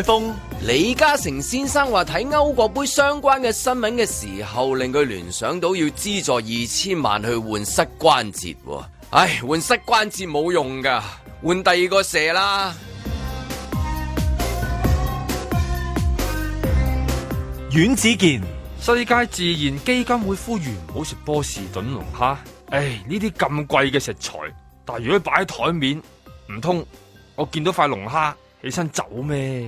海峰、 李嘉誠先生話睇歐國杯相關嘅新聞嘅時候，令佢聯想到要資助2000萬去換膝關節。唉，換膝關節冇用噶，換第二個射啦。 阮子健， 世界自然基金會呼籲唔好食波士頓龍蝦。唉，呢啲咁貴嘅食材，但係如果擺喺台面，唔通我見到塊龍蝦起身走咩？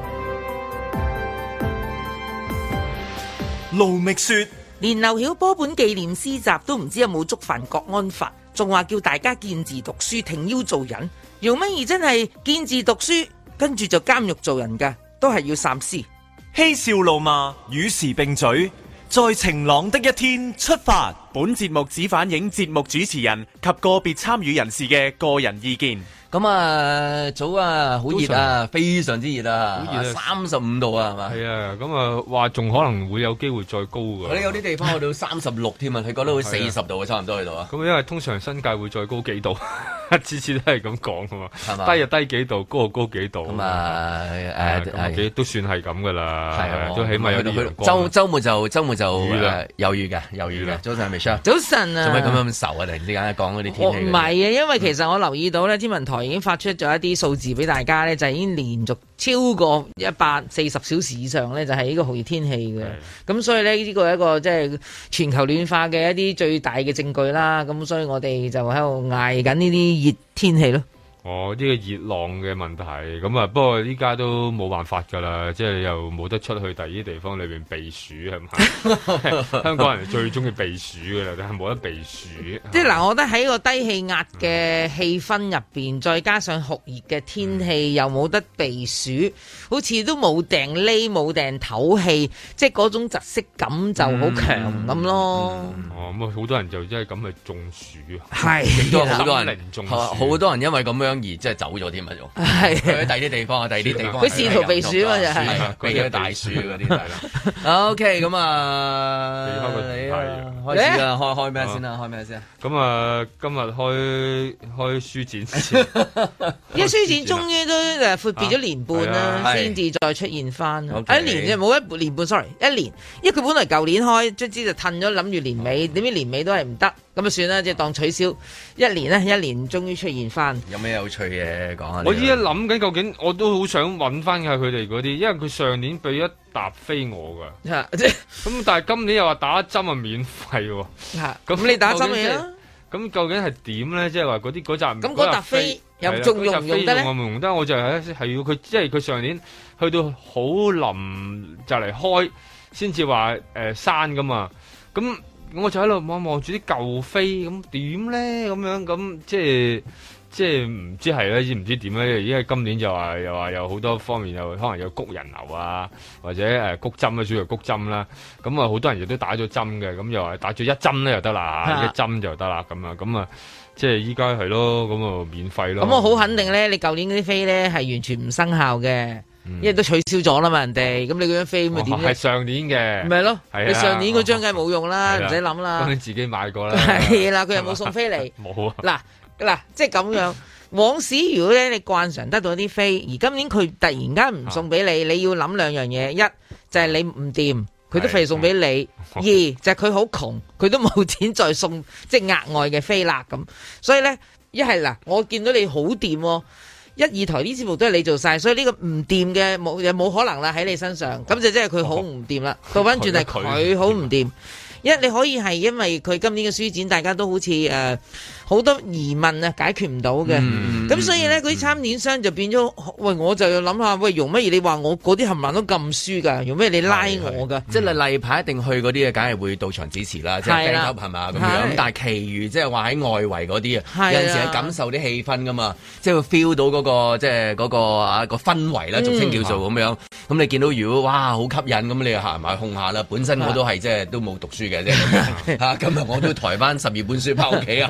盧覓雪， 連劉曉波本紀念詩集都唔知有冇觸犯國安法，仲話叫大家見字讀書，挺腰做人。姚敏儀真係見字讀書，跟住就監獄做人噶，都係要三思。 嬉笑怒罵，與時並舉，在晴朗的一天出發。 本節目只反映節目主持人及個別參與人士嘅個人意見。 咁啊，早啊，好熱啊，非常之熱啊，35度啊，係嘛？ 係啊，咁啊，話仲可能會有機會再高㗎。 我哋有啲地方去到36添啊，佢覺得會40度啊，差唔多去到啊。 咁因為通常新界會再高幾度，次次都係咁講㗎嘛， 係嘛？ 低就低幾度，高就高幾度。咁啊， 都算係咁㗎啦，係都起碼有啲陽光。 週末就雨啦， 有雨嘅。早晨係咪 Michelle？ 早晨啊！ 做咩咁樣愁啊？突然之間講嗰啲天氣。 唔係啊，因為其實我留意到咧，天文台已經發出咗一啲數字俾大家咧，就已經連續超過140小時以上咧，就係呢個酷熱天氣嘅。咁所以咧，呢個係一個即係全球暖化嘅一啲最大嘅證據啦。咁所以我哋就喺度捱緊呢啲熱天氣咯。 哦，呢個熱浪嘅問題，咁啊，不過依家都冇辦法㗎啦，即係又冇得出去第二啲地方裏邊避暑係咪？香港人最中意避暑㗎啦，但係冇得避暑。 即係嗱，我覺得喺個低氣壓嘅氣氛入邊，再加上酷熱嘅天氣，又冇得避暑，好似都冇埞匿，冇埞唞氣，即係嗰種窒息感就好強咁咯。 哦，咁啊，好多人就真係咁去中暑啊， 係， 都好多人中暑，好多人因為咁樣。而即係走咗添啊！仲係去第二啲地方啊，第二啲地方佢試圖避暑嘛，就係避咗大暑嗰啲係啦。OK， 咁啊，你開始啦，開咩先啦？開咩先？ 咁啊，今日開書展先， 因為書展終於都闊別咗年半啦，先至再出現翻。一年啫，冇一年半 ，sorry， 一年，因為佢本來舊年開，卒之就褪咗，諗住年尾，點知年尾都係唔得。咁啊算啦，即係當取消一年終於出現翻。有咩有趣嘅講下？ 我依家諗緊究竟，我都好想揾翻下佢哋嗰啲，因為佢上年俾一沓飛我㗎。咁但係今年又話打針啊免費喎。 咁你打針未啊？ 咁究竟係點咧？即係話嗰紮咁嗰沓飛又仲用唔用得咧？ 我唔用得，我就係要佢，即係佢上年去到好臨就嚟開，先至話刪噶嘛。咁我就喺度望住啲舊飛，咁點咧？咁樣咁即係唔知係咧，唔知點咧？因為今年又話有好多方面，又可能有谷人流啊，或者谷針啊，主要谷針啦。咁啊，好多人亦都打咗針嘅，咁又話打咗一針咧就得啦，一針就得啦。咁啊，即係依家係咯，咁啊免費咯。 咁我好肯定咧，你舊年嗰啲飛咧係完全唔生效嘅。因為都取消咗啦嘛，人哋咁你嗰張飛咁咪點咧？係上年嘅， 咪係咯？你上年嗰張梗係冇用啦，唔使諗啦。 咁你自己買過啦。 係啦，佢又冇送飛嚟。 冇啊！ 嗱，即係咁樣。往時如果咧你慣常得到啲飛，而今年佢突然間唔送俾你，你要諗兩樣嘢：一就係你唔掂，佢都費送俾你；二就係佢好窮，佢都冇錢再送即係額外嘅飛啦咁。所以咧，一係嗱，我見到你好掂喎。1、2台啲節目都係你做晒，所以呢個唔掂嘅冇可能啦喺你身上，咁就即係佢好唔掂啦。倒翻轉係佢好唔掂，你可以係因為佢今年嘅書展，大家都好似好多疑問啊，解決唔到嘅。咁所以咧，嗰啲參展商就變咗，喂，我就要諗下，喂，容乜嘢？你話我嗰啲冚唪唥都咁輸㗎，容乜嘢你拉我㗎？ 即係例牌一定去嗰啲嘅，梗係會到場支持啦，即係 fan club 係嘛咁樣。咁但係其餘即係話喺外圍嗰啲啊，有陣時係感受啲氣氛㗎嘛，即係會 feel 到嗰個即係嗰個氛圍啦，俗稱叫做咁樣。咁你見到如果哇好吸引咁，你又行埋控下啦。本身我都係即係都冇讀書嘅啫。嚇，今日我都抬翻12本書翻屋企啊，係咁樣。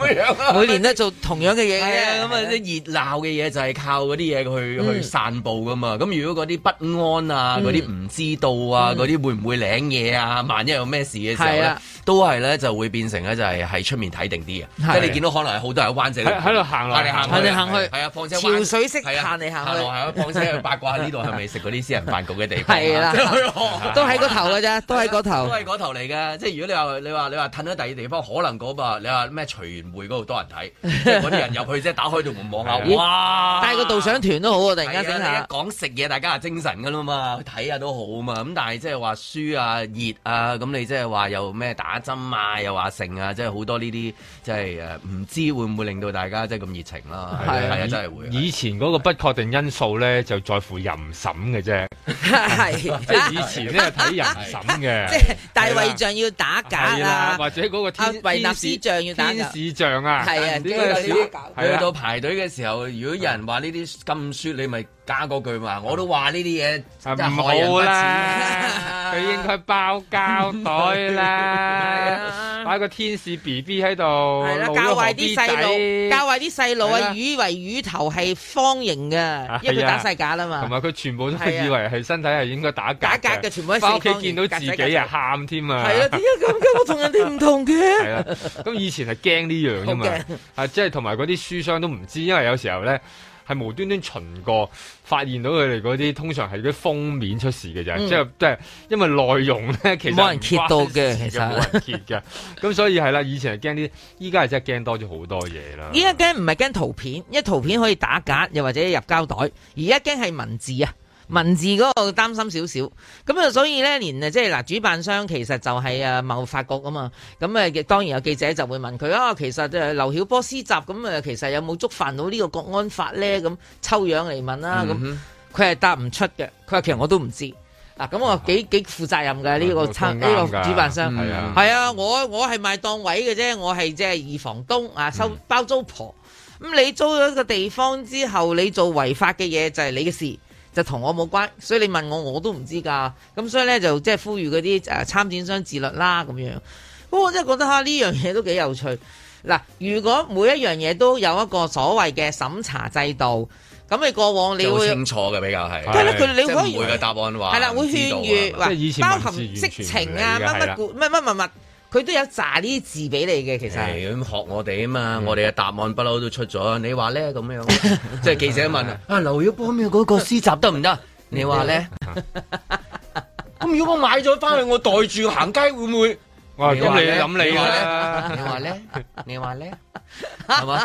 每年都做同樣嘅嘢嘅。 咁啊啲熱鬧嘅嘢就係靠嗰啲嘢去散佈噶嘛。咁如果嗰啲不安啊，嗰啲唔知道啊，嗰啲會唔會領嘢啊？萬一有咩事嘅時候咧，都係咧就會變成咧就係喺出面睇定啲嘅。即係你見到可能係好多人灣仔喺度行嚟行去， 係啊，況且潮水式行嚟行去， 係啊，況且去八卦呢度係咪食嗰啲私人飯局嘅地方？係啦， 都喺嗰頭嘅啫，都喺嗰頭， 都係嗰頭嚟嘅。即係如果你話褪咗第二地方，可能嗰個你話咩隨緣會嗰度多人睇，即係嗰啲人入去即係打開道門望下，哇！ 帶個導賞團都好啊！突然間整下， 講食嘢大家係精神噶啦嘛，睇下都好啊嘛。咁但係即係話輸啊熱啊，咁你即係話又咩打針啊，又話剩啊，即係好多呢啲即係唔知會唔會令到大家即係咁熱情啦？係啊，真係會。 以前嗰個不確定因素咧，就在乎淫審嘅啫。 係即係以前咧係睇淫審嘅， 即係大衛像要打假啊， 或者嗰個維納斯像要打天使像啊， 係啊， 點解去到排隊嘅時候，如果有人話呢啲咁説，你咪加嗰句嘛？我都話呢啲嘢唔好啦，佢應該包膠袋啦，擺個天使 BB 喺度， 教壞啲細路，教壞啲細路啊，以為乳頭係方形嘅，因為佢打晒假啦嘛。 同埋佢全部都以為係身體係應該打假嘅，全部喺翻屋企見到自己啊喊添啊！ 係啊，點解咁嘅？我同人哋唔同嘅。 係啊，咁以前係驚呢樣噶嘛，即係同埋嗰啲書商都唔知，因為有時候咧係無端端巡過，發現到佢哋嗰啲通常係啲封面出事嘅啫，即係因為內容咧其實冇人揭到嘅，其實冇人揭嘅，咁所以係啦，以前係驚啲，依家係真係驚多咗好多嘢啦。 依家驚唔係驚圖片，因為圖片可以打假，又或者入膠袋，而家驚係文字啊。文字嗰個擔心少少，咁啊，所以咧，連即係嗱，主辦商其實就係貿發局啊嘛，咁當然有記者就會問佢啊，其實劉曉波施襲咁其實有冇觸犯到呢個國安法咧？咁抽樣嚟問啦，咁佢係答唔出嘅，佢話其實我都唔知。嗱，咁我幾負責任嘅呢個主辦商，係啊，我係賣檔位嘅啫，我係即係二房東啊，收包租婆。咁你租咗個地方之後，你做違法嘅嘢就係你嘅事。就同我冇關，所以你問我都唔知㗎。咁所以咧就即係呼籲嗰啲參展商自律啦咁樣。不過我真係覺得呢樣嘢都幾有趣。嗱，如果每一樣嘢都有一個所謂嘅審查制度，咁你過往你會清楚嘅比較係。 係啦，佢你可以每個答案話係啦，會勸喻話包含色情啊乜。佢都有炸呢啲字俾你嘅，其實係咁學我哋啊嘛，我哋嘅答案不嬲都出咗。你話咧咁樣，即係記者問啊，劉曉波咩嗰個施襲得唔得？你話咧？咁如果我買咗翻去，我袋住行街會唔會？ 哇！咁你諗你啦， 你話咧？你話咧？係嘛？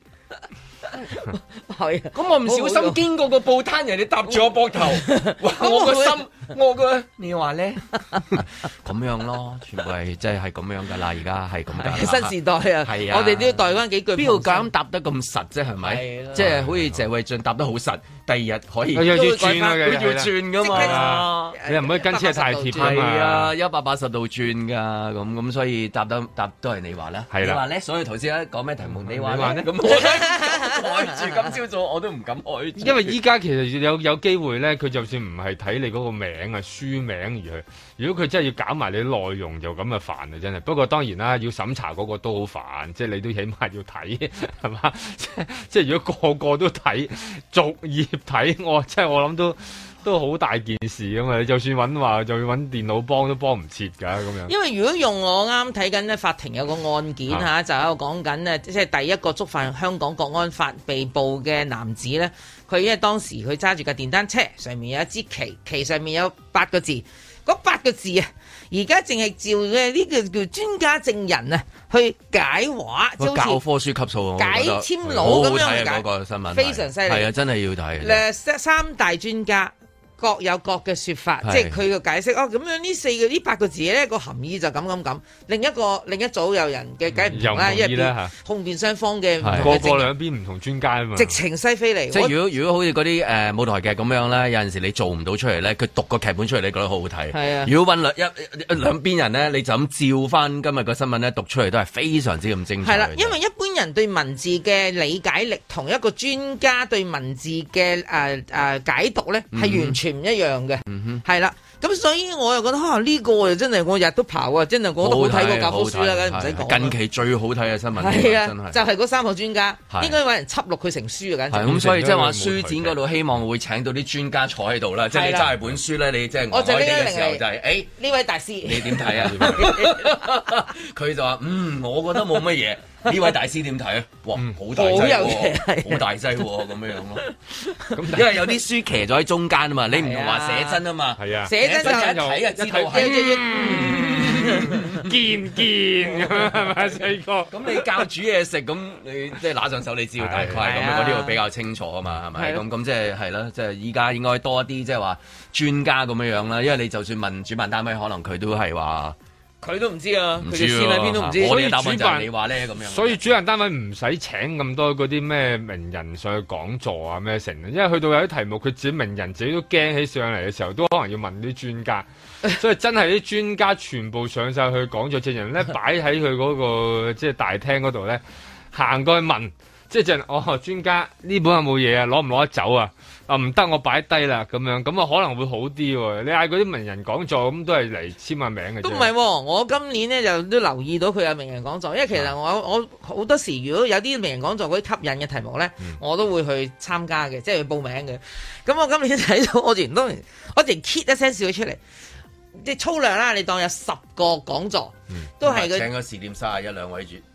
係咁我唔小心經過個報攤，人哋搭住我膊頭，我個心，我個你話咧咁樣咯，全部係即係咁樣噶啦，而家係咁噶。 新時代啊，係啊，我哋都要代翻幾句。邊度敢答得咁實啫？係咪？即係好似謝偉俊答得好實，第二日可以要轉嘅， 要轉噶嘛？ 你唔可以跟車太貼噶嘛？ 係啊，180度轉噶，咁所以答都係你話啦。 係啦， 你話咧，所以頭先咧講咩題目？你話咧咁開住今朝早我都唔敢開住， 因為依家其實有機會咧，佢就算唔係睇你嗰個名啊書名而去，如果佢真係要搞埋你內容，就咁啊煩啊真係。不過當然啦，要審查嗰個都好煩，即係你都起碼要睇係嘛？即係如果個個都睇逐頁睇，我諗都好大件事㗎嘛！你就算就要揾電腦幫都幫唔切㗎咁樣。因為如果用我啱睇緊咧，法庭有個案件嚇，就喺度講緊咧，即係第一個觸犯香港國安法被捕嘅男子咧，佢因為當時佢揸住架電單車，上面有一支旗，旗上面有8個字，嗰8個字啊，而家淨係照嘅呢個叫專家證人啊去解話， 即係教科書級數解簽佬咁樣解。 嗰個新聞非常犀利， 係啊，真係要睇。 3大專家。各有各嘅說法，即係佢嘅解釋。咁樣呢8個字咧個含義就咁。另一組有人嘅解唔同啦，因為控辯雙方嘅個兩邊唔同專家啊嘛， 直情西飛嚟。 即係如果好似嗰啲舞台劇咁樣咧，有陣時你做唔到出嚟咧，佢讀個劇本出嚟，你覺得好好睇。係啊，如果揾兩邊人咧，你就咁照翻今日個新聞咧讀出嚟，都係非常之咁精彩。係啦， 因為一般人對文字嘅理解力同一個專家對文字嘅解讀咧係完全唔一樣嘅，係啦。咁所以我又覺得呢個真係我日都刨啊，真係我都好睇過教科書啦，梗係唔使講。近期最好睇嘅新聞係啊，就係嗰3個專家，應該揾人輯錄佢成書啊，簡直。 咁所以即係話書展嗰度希望會請到啲專家坐喺度啦，即係你揸住本書咧，你即係我哋嘅時候就係呢位大師， 你點睇啊？佢就話我覺得冇乜嘢。呢位大師點睇啊？哇，好大劑喎，好大劑喎，咁樣咯。因為有啲書騎咗喺中間啊嘛，你唔同話寫真啊嘛。 係啊， 寫真就一睇就知道係堅咁樣係咪細個？ 咁你教煮嘢食，咁你即係拿上手，你知道大概係咁樣，嗰啲會比較清楚啊嘛，係咪？咁即係係啦，即係依家應該多一啲即係話專家咁樣啦，因為你就算問主辦單位，可能佢都係話。佢都唔知啊，佢哋線喺邊都唔知。我哋嘅答案就係你話咧咁樣。 所以主辦單位唔使請咁多嗰啲咩名人上去講座啊咩成，因為去到有啲題目，佢自己名人自己都驚起上嚟嘅時候，都可能要問啲專家。所以真係啲專家全部上晒去講座，證人咧擺喺佢嗰個即係大廳嗰度咧，行過去問，即係專家呢本有冇嘢啊？攞唔攞得走啊？唔得，我擺低啦，咁樣咁啊可能會好啲喎。你嗌嗰啲名人講座咁都係嚟簽下名嘅啫。都唔係喎，我今年咧就都留意到佢有名人講座，因為其實我好多時如果有啲名人講座嗰啲吸引嘅題目咧，我都會去參加嘅，即係去報名嘅。咁我今年睇到我連 kit 一聲笑咗出嚟，即係粗量啦，你當有10個講座，都係佢請個時點31-2位主。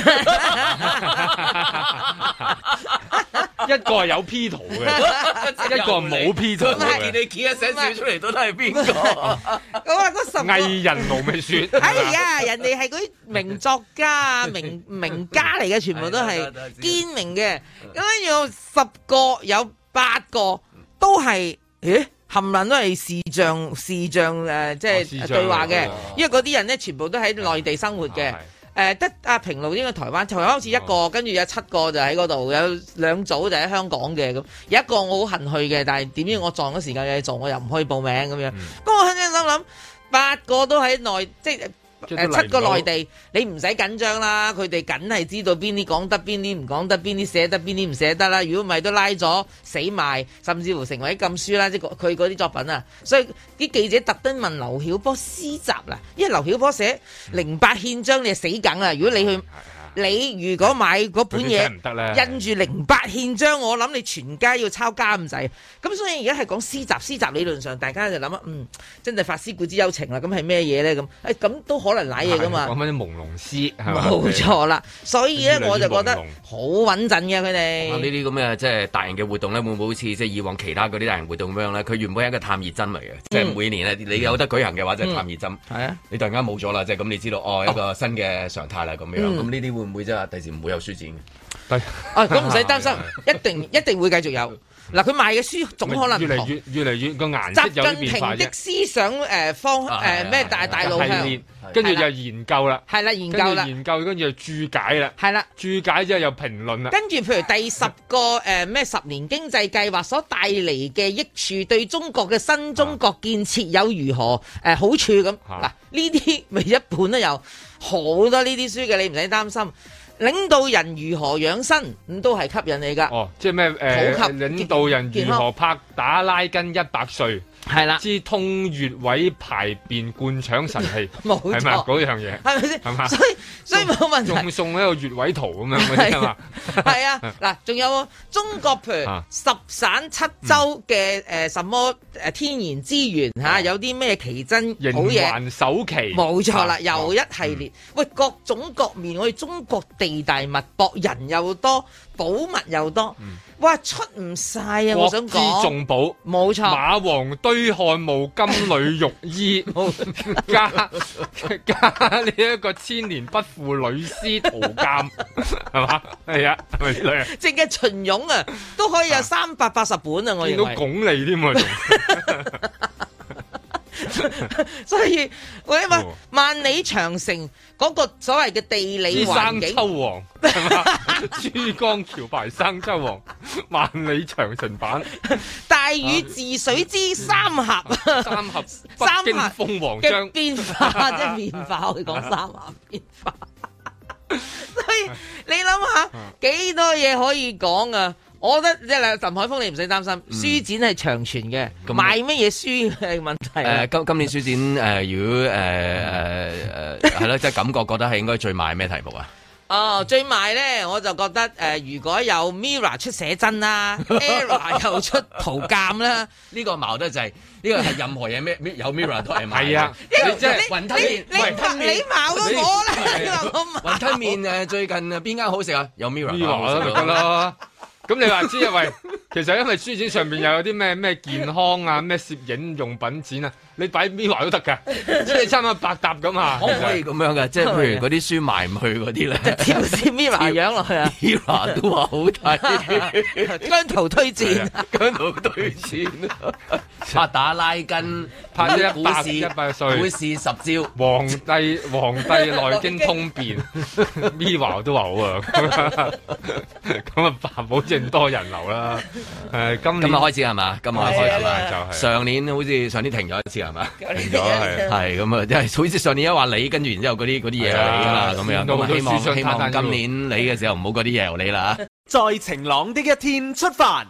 一個係有 P 圖嘅，一個係冇 P 圖嘅。 見你企一寫笑出嚟，都係邊個？ 我話嗰10個藝人盧美雪。 哎呀，人哋係嗰啲名作家、名家嚟嘅，全部都係堅名嘅。咁跟住10個有8個都係，冚唪唥都係視像即係對話嘅，因為嗰啲人咧全部都喺內地生活嘅。得阿平路應該台灣好似1個，跟住有7個就喺嗰度，有2組就喺香港嘅咁，有1個我好恨去嘅，但係點知我撞咗時間有嘢做，我又唔可以報名咁樣。咁我肯定心諗8個都喺內，即係7個內地，你唔使緊張啦，佢哋梗係知道邊啲講得，邊啲唔講得，邊啲寫得，邊啲唔寫得啦。如果唔係都拉咗死埋，甚至乎成為禁書啦，即係佢嗰啲作品啊。所以啲記者特登問劉曉波詩集啦，因為劉曉波寫08憲章，你係死梗啦。如果你去。你如果買嗰本嘢印住08憲章，我諗你全家要抄家咁滯。咁所以而家係講詩集，詩集理論上大家就諗真係發思古之幽情啦。咁係咩嘢咧？咁都可能瀨嘢噶嘛。 講翻啲朦朧詩， 冇錯啦。所以咧我就覺得好穩陣嘅佢哋。 呢啲咁嘅即係大型嘅活動咧，會唔會好似即係以往其他嗰啲大型活動咁樣咧？佢原本係一個探熱針嚟嘅，即係每年咧你有得舉行嘅話，就係探熱針。係啊，你突然間冇咗啦，即係咁你知道一個新嘅常態啦咁樣。咁呢啲會唔會即係第時唔會有書展嘅？ 咁唔使擔心，一定會繼續有。嗱，佢賣嘅書總可能越嚟越個顏色有啲變化啫。習近平的思想咩大路向， 跟住就研究啦， 係啦研究， 跟住就注解啦， 係啦注解之後又評論啦。 跟住譬如第10個咩10年經濟計劃所帶嚟嘅益處，對中國嘅新中國建設有如何好處咁？嗱，呢啲咪一本都有好多呢啲書嘅，你唔使擔心。領導人如何養生咁都係吸引你噶。 即係咩？領導人如何拍打拉筋100歲？係啦，知通穴位排便灌腸神器， 冇錯， 係咪嗰樣嘢？ 係咪先？ 係嘛？ 所以冇問題。 仲送一個穴位圖咁樣嗰啲嘛？ 係啊，嗱，仲有中國譬如10省7州嘅什麼天然資源嚇，有啲咩奇珍好嘢？ 營環首期，冇錯啦，又一系列。喂，各種各面，我哋中國地大物博，人又多，寶物又多。哇，出唔晒啊！我想講，國之重寶，冇錯， 馬王堆漢墓金縷玉衣，加呢一個千年不腐女屍圖鑑，係嘛？係啊，係咪咧？ 淨係秦俑啊，都可以有380本啊！我認為見到鞏俐添啊！ 所以我因為萬里長城嗰個所謂嘅地理環境， 生抽王係嘛？珠江橋牌生抽王，萬里長城版， 大禹治水之三峽， 北京鳳凰章嘅變化，即係變化，我哋講三峽變化。所以你諗下幾多嘢可以講啊？ 我覺得即係鄧海峰，你唔使擔心，書展係長存嘅，賣乜嘢書係問題。 今年書展如果係咯，即係感覺覺得係應該最賣咩題目啊？ 哦，最賣咧，我就覺得如果有 Mirror 出寫真啦，Era 又出圖鑑啦， 呢個矛得就係呢個係任何嘢咩有 Mirror 都係賣。 係啊，你即係雲吞麵， 你矛過我啦， 雲吞麵最近邊間好食啊？有 Mirror 就得啦。咁你話知啊？喂，其實因為書展上邊又有啲咩健康啊、咩攝影用品展啊，你擺 Mirror 都得㗎，即係差唔多百搭咁啊！ 可唔可以咁樣㗎？即係譬如嗰啲書賣唔去嗰啲咧， 貼啲 Mirror 樣落去啊 ！Mirror 都話好睇， 姜濤推薦， 姜濤推薦，拍打拉筋， 拍100歲， 股市10招， 皇帝內經通變 ，Mirror 都話好啊！咁啊，保證多人流啦。今日開始係嘛？今日開始就係上年好似上年停咗一次係嘛？ 停咗係咁啊，即係好似上年一話你，跟住然之後嗰啲嘢嚟㗎嘛，咁樣咁希望今年你嘅時候唔好嗰啲嘢由你啦。 在晴朗的一天出發。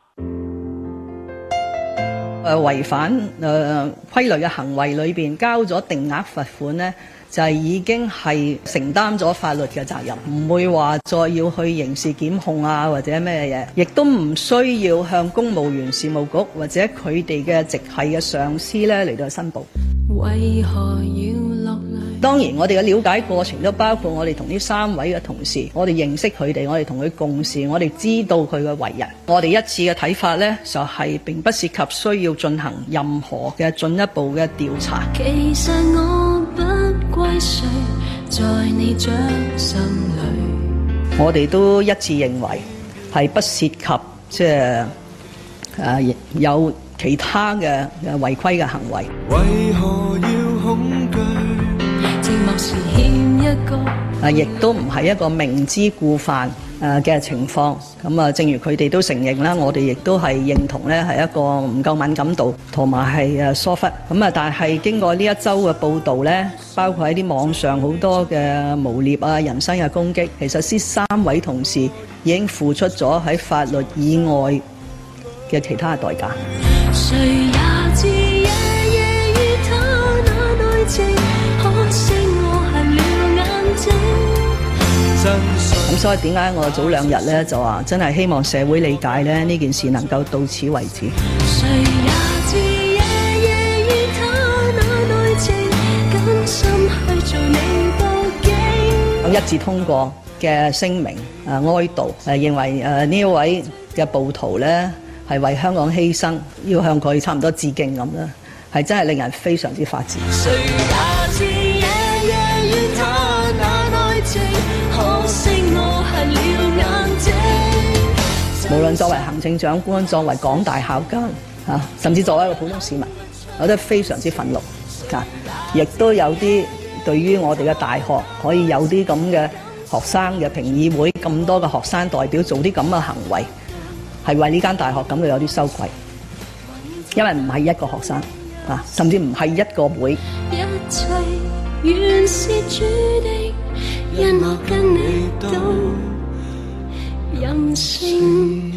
違反規律嘅行為裏邊交咗定額罰款呢，就係已經係承擔咗法律嘅責任，唔會話再要去刑事檢控啊或者咩嘢，亦都唔需要向公務員事務局或者佢哋嘅直系嘅上司咧嚟到申報。為何要落淚？當然我哋嘅了解過程都包括我哋同呢3位嘅同事，我哋認識佢哋，我哋同佢共事，我哋知道佢嘅為人。我哋一致嘅睇法呢，就係並不涉及需要進行任何嘅進一步嘅調查。其實我不歸誰，在你掌心裏。我哋都一致認為係不涉及即係有其他嘅違規嘅行為。為何要恐懼？寂寞時欠一個。亦都唔係一個明知故犯嘅情況。咁啊，正如佢哋都承認啦，我哋亦都係認同咧，係一個唔夠敏感度同埋係疏忽。咁啊，但係經過呢一周嘅報導咧，包括喺啲網上好多嘅誣蔑啊、人身嘅攻擊，其實呢3位同事已經付出咗喺法律以外嘅其他嘅代價。誰也知夜夜與他那內情，可惜我瞎了眼睛。咁所以點解我早2日咧就話真係希望社會理解咧呢件事能夠到此為止。誰也知夜夜與他那內情，甘心去做你報警。一致通過嘅聲明哀悼，認為呢一位嘅暴徒咧係為香港犧牲，要向佢差唔多致敬咁啦，係真係令人非常之發指。誰也知夜夜與他那內情，可惜我瞎了眼睛。無論作為行政長官，作為港大校監甚至作為一個普通市民，我都非常之憤怒亦都有啲對於我哋嘅大學可以有啲咁嘅學生嘅評議會，咁多嘅學生代表做啲咁嘅行為，係為呢間大學感到有啲羞愧，因為唔係一個學生甚至唔係一個會。一切原是注定，因我跟你都任性。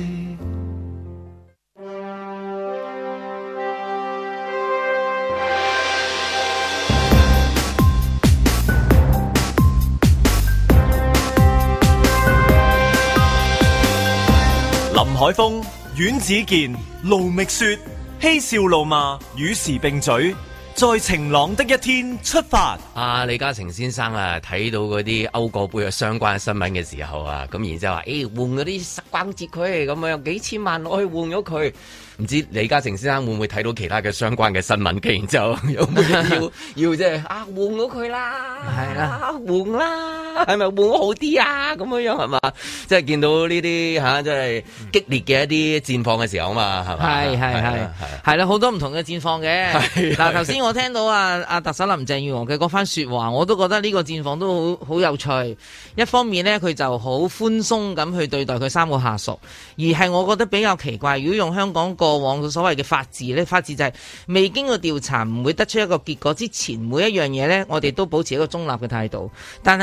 林海峰、阮子健、盧覓雪，嬉笑怒罵，與時並舉，在晴朗的一天出發。 李嘉誠先生睇到嗰啲歐國杯嘅相關新聞嘅時候咁然之後話換嗰啲關節佢咁樣幾千萬攞去換咗佢。唔知李嘉誠先生會唔會睇到其他嘅相關嘅新聞嘅，然之後有冇要即係換咗佢啦，係啦，換啦，係咪換咗好啲啊？咁樣係嘛？即係見到呢啲即係激烈嘅一啲戰況嘅時候嘛，係嘛？ 係啦，好多唔同嘅戰況嘅。嗱，頭先我聽到阿特首林鄭月娥嘅嗰番說話，我都覺得呢個戰況都好有趣。一方面呢，佢就好寬鬆咁去對待佢3個下屬，而係我覺得比較奇怪，如果用香港過往所謂嘅法治呢，法治就係未經過調查唔會得出一個結果之前，每一樣嘢呢，我哋都保持一個中立嘅態度。但係呢，佢係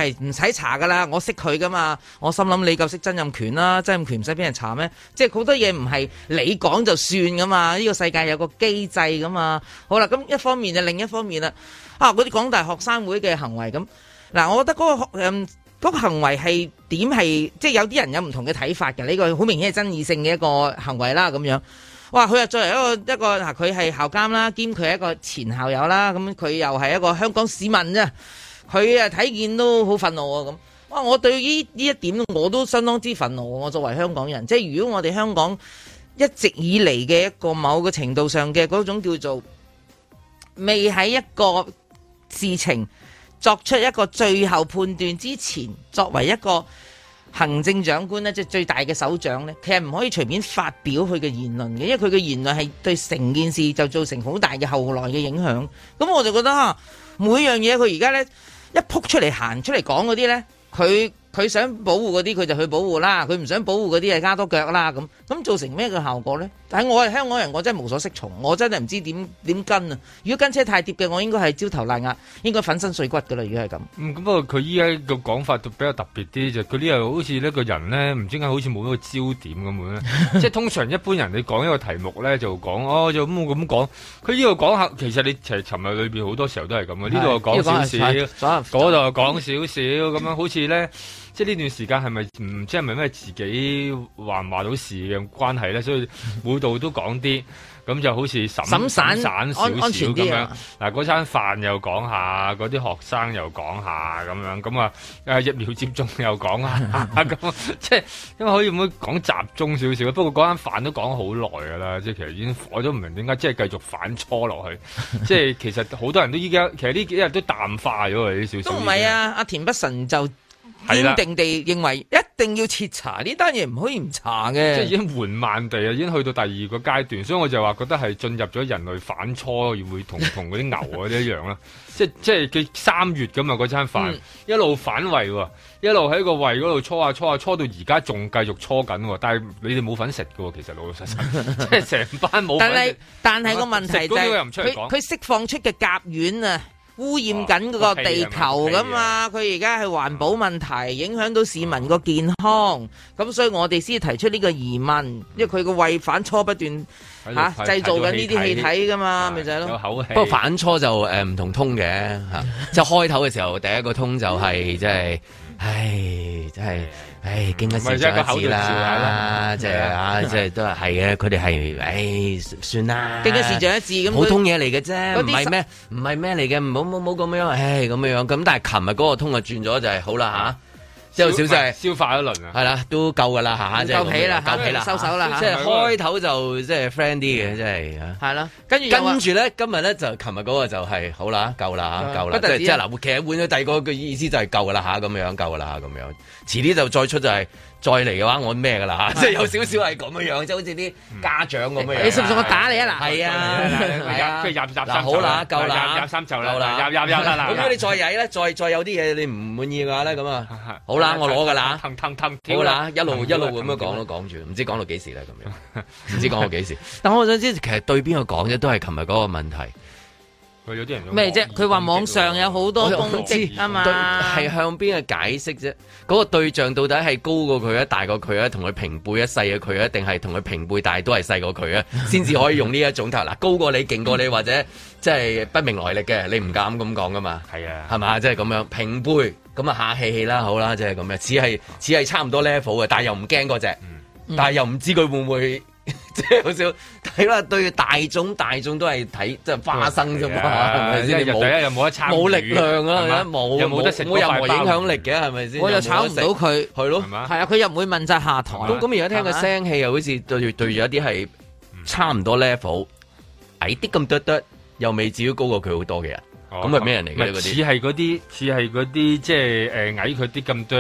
係唔使查噶啦，我識佢噶嘛，我心諗你夠識曾蔭權啦，曾蔭權唔使俾人查咩？即係好多嘢唔係你講就算噶嘛，呢個世界有個機制噶嘛。好啦，咁一方面就另一方面啦，嗰啲港大學生會嘅行為咁，嗱，我覺得嗰個行為係點係，即係有啲人有唔同嘅睇法嘅，呢個好明顯係爭議性嘅一個行為啦，咁樣。哇！佢又作為一個嗱，佢係校監啦，兼佢係一個前校友啦，咁佢又係一個香港市民啫，佢睇見都好憤怒啊咁。哇！我對呢一點我都相當之憤怒。我作為香港人，即係如果我哋香港一直以嚟嘅一個某個程度上嘅嗰種叫做未喺一個事情作出一個最後判斷之前，作為一個行政長官咧，即係最大嘅首長咧，其實唔可以隨便發表佢嘅言論嘅，因為佢嘅言論係對成件事就造成好大嘅後來嘅影響。咁我就覺得每樣嘢佢而家咧一撲出嚟行出嚟講嗰啲咧，佢想保護嗰啲佢就去保護啦，佢唔想保護嗰啲就加多腳啦，咁造成咩嘅效果咧？但係我係香港人，我真係無所適從，我真係唔知點跟啊！如果跟車太貼嘅，我應該係焦頭爛額，應該粉身碎骨噶啦。如果係咁， 咁不過佢依家個講法都比較特別啲，就佢呢又好似呢個人咧，唔知點解好似冇一個焦點咁樣咧。即係通常一般人你講一個題目咧就講就咁講，佢呢度講下，其實你其實尋日裏邊好多時候都係咁嘅，呢度又講少少，嗰度又講少少咁樣，好似咧。即係呢段時間係咪唔知係咪咩自己話唔話到事嘅關係咧？所以每度都講啲，咁就好似散少少咁樣。嗱，嗰餐飯又講下，嗰啲學生又講下咁樣，咁啊疫苗接種又講下，咁即係因為可以唔可以講集中少少？不過嗰餐飯都講好耐㗎啦，即係其實已經我都唔明點解即係繼續反搓落去。即係其實好多人都依家其實呢幾日都淡化咗佢啲少少。 都唔係啊，阿田北辰就堅定地認為一定要徹查呢單嘢，唔可以唔查嘅。 即係已經緩慢地啊，已經去到第二個階段，所以我就話覺得係進入咗人類反芻，會同嗰啲牛嗰啲一樣啦。即係佢3月咁啊，嗰餐飯一路反胃喎，一路喺個胃嗰度搓到而家仲繼續搓緊喎。但係你哋冇份食㗎喎，其實老老實實，即係成班冇份。 但係個問題就係佢釋放出嘅甲烷啊，污染緊嗰個地球噶嘛，佢而家係環保問題，影響到市民個健康，咁所以我哋先提出呢個疑問，因為佢個胃反芻不斷製造緊呢啲氣體噶嘛，咪就係咯。 不過反芻就唔同通嘅嚇，即係開頭嘅時候第一個通就係即係，真係。經一事長一智啦，即係都係嘅。佢哋係，算啦。 經一事長一智咁， 普通嘢嚟嘅啫，唔係咩嚟嘅，唔好咁樣，咁樣。咁但係琴日嗰個通就轉咗，就係好啦嚇。之後少就係消化一輪啊， 係啦，都夠噶啦嚇，即係夠皮啦，收手啦嚇。 即係開頭就即係 friend 啲嘅，即係嚇。係啦，跟住咧，今日咧就琴日嗰個就係好啦，夠啦，夠啦。即係嗱，其實換咗第二個嘅意思就係夠噶啦嚇，咁樣夠噶啦咁樣。遲啲就再出就係再嚟嘅話，我咩噶啦嚇，即係有少少係咁樣樣，即係好似啲家長咁樣。 你信唔信我打你啊嗱？ 係啊， 跟住入好啦，夠啦， 入3就啦，入啦。咁如果你再曳咧，再有啲嘢你唔滿意嘅話咧，咁啊，好啦，我攞噶啦，好啦，一路咁樣講住，唔知講到幾時咧咁樣，唔知講到幾時。但我想知其實對邊個講啫，都係琴日嗰個問題。 有啲人咩啫？佢話網上有好多攻擊啊嘛， 係向邊個解釋啫？嗰個對象到底係高過佢啊，大過佢啊，同佢平輩一細過佢啊，定係同佢平輩大都係細過佢啊？先至可以用呢一種頭嗱，高過你、勁過你或者即係不明來歷嘅，你唔敢咁講噶嘛？係啊，係嘛？即係咁樣平輩咁啊，下氣啦，好啦，即係咁樣，似係差唔多 level 嘅，但係又唔驚嗰隻，但係又唔知佢會唔會。即係好少睇啦，對大眾都係睇即係花生啫嘛，係咪先？第一又冇得參與， 冇力量啊，冇得食，冇任何影響力嘅，係咪先？ 我又炒唔到佢， 係咯， 係啊，佢又唔會問責下台。 咁而家聽個聲氣又好似對住一啲係差唔多 level，矮啲咁多，又未至於高過佢好多嘅人。咁係咩人嚟嘅？ 似係嗰啲即係矮佢啲咁多。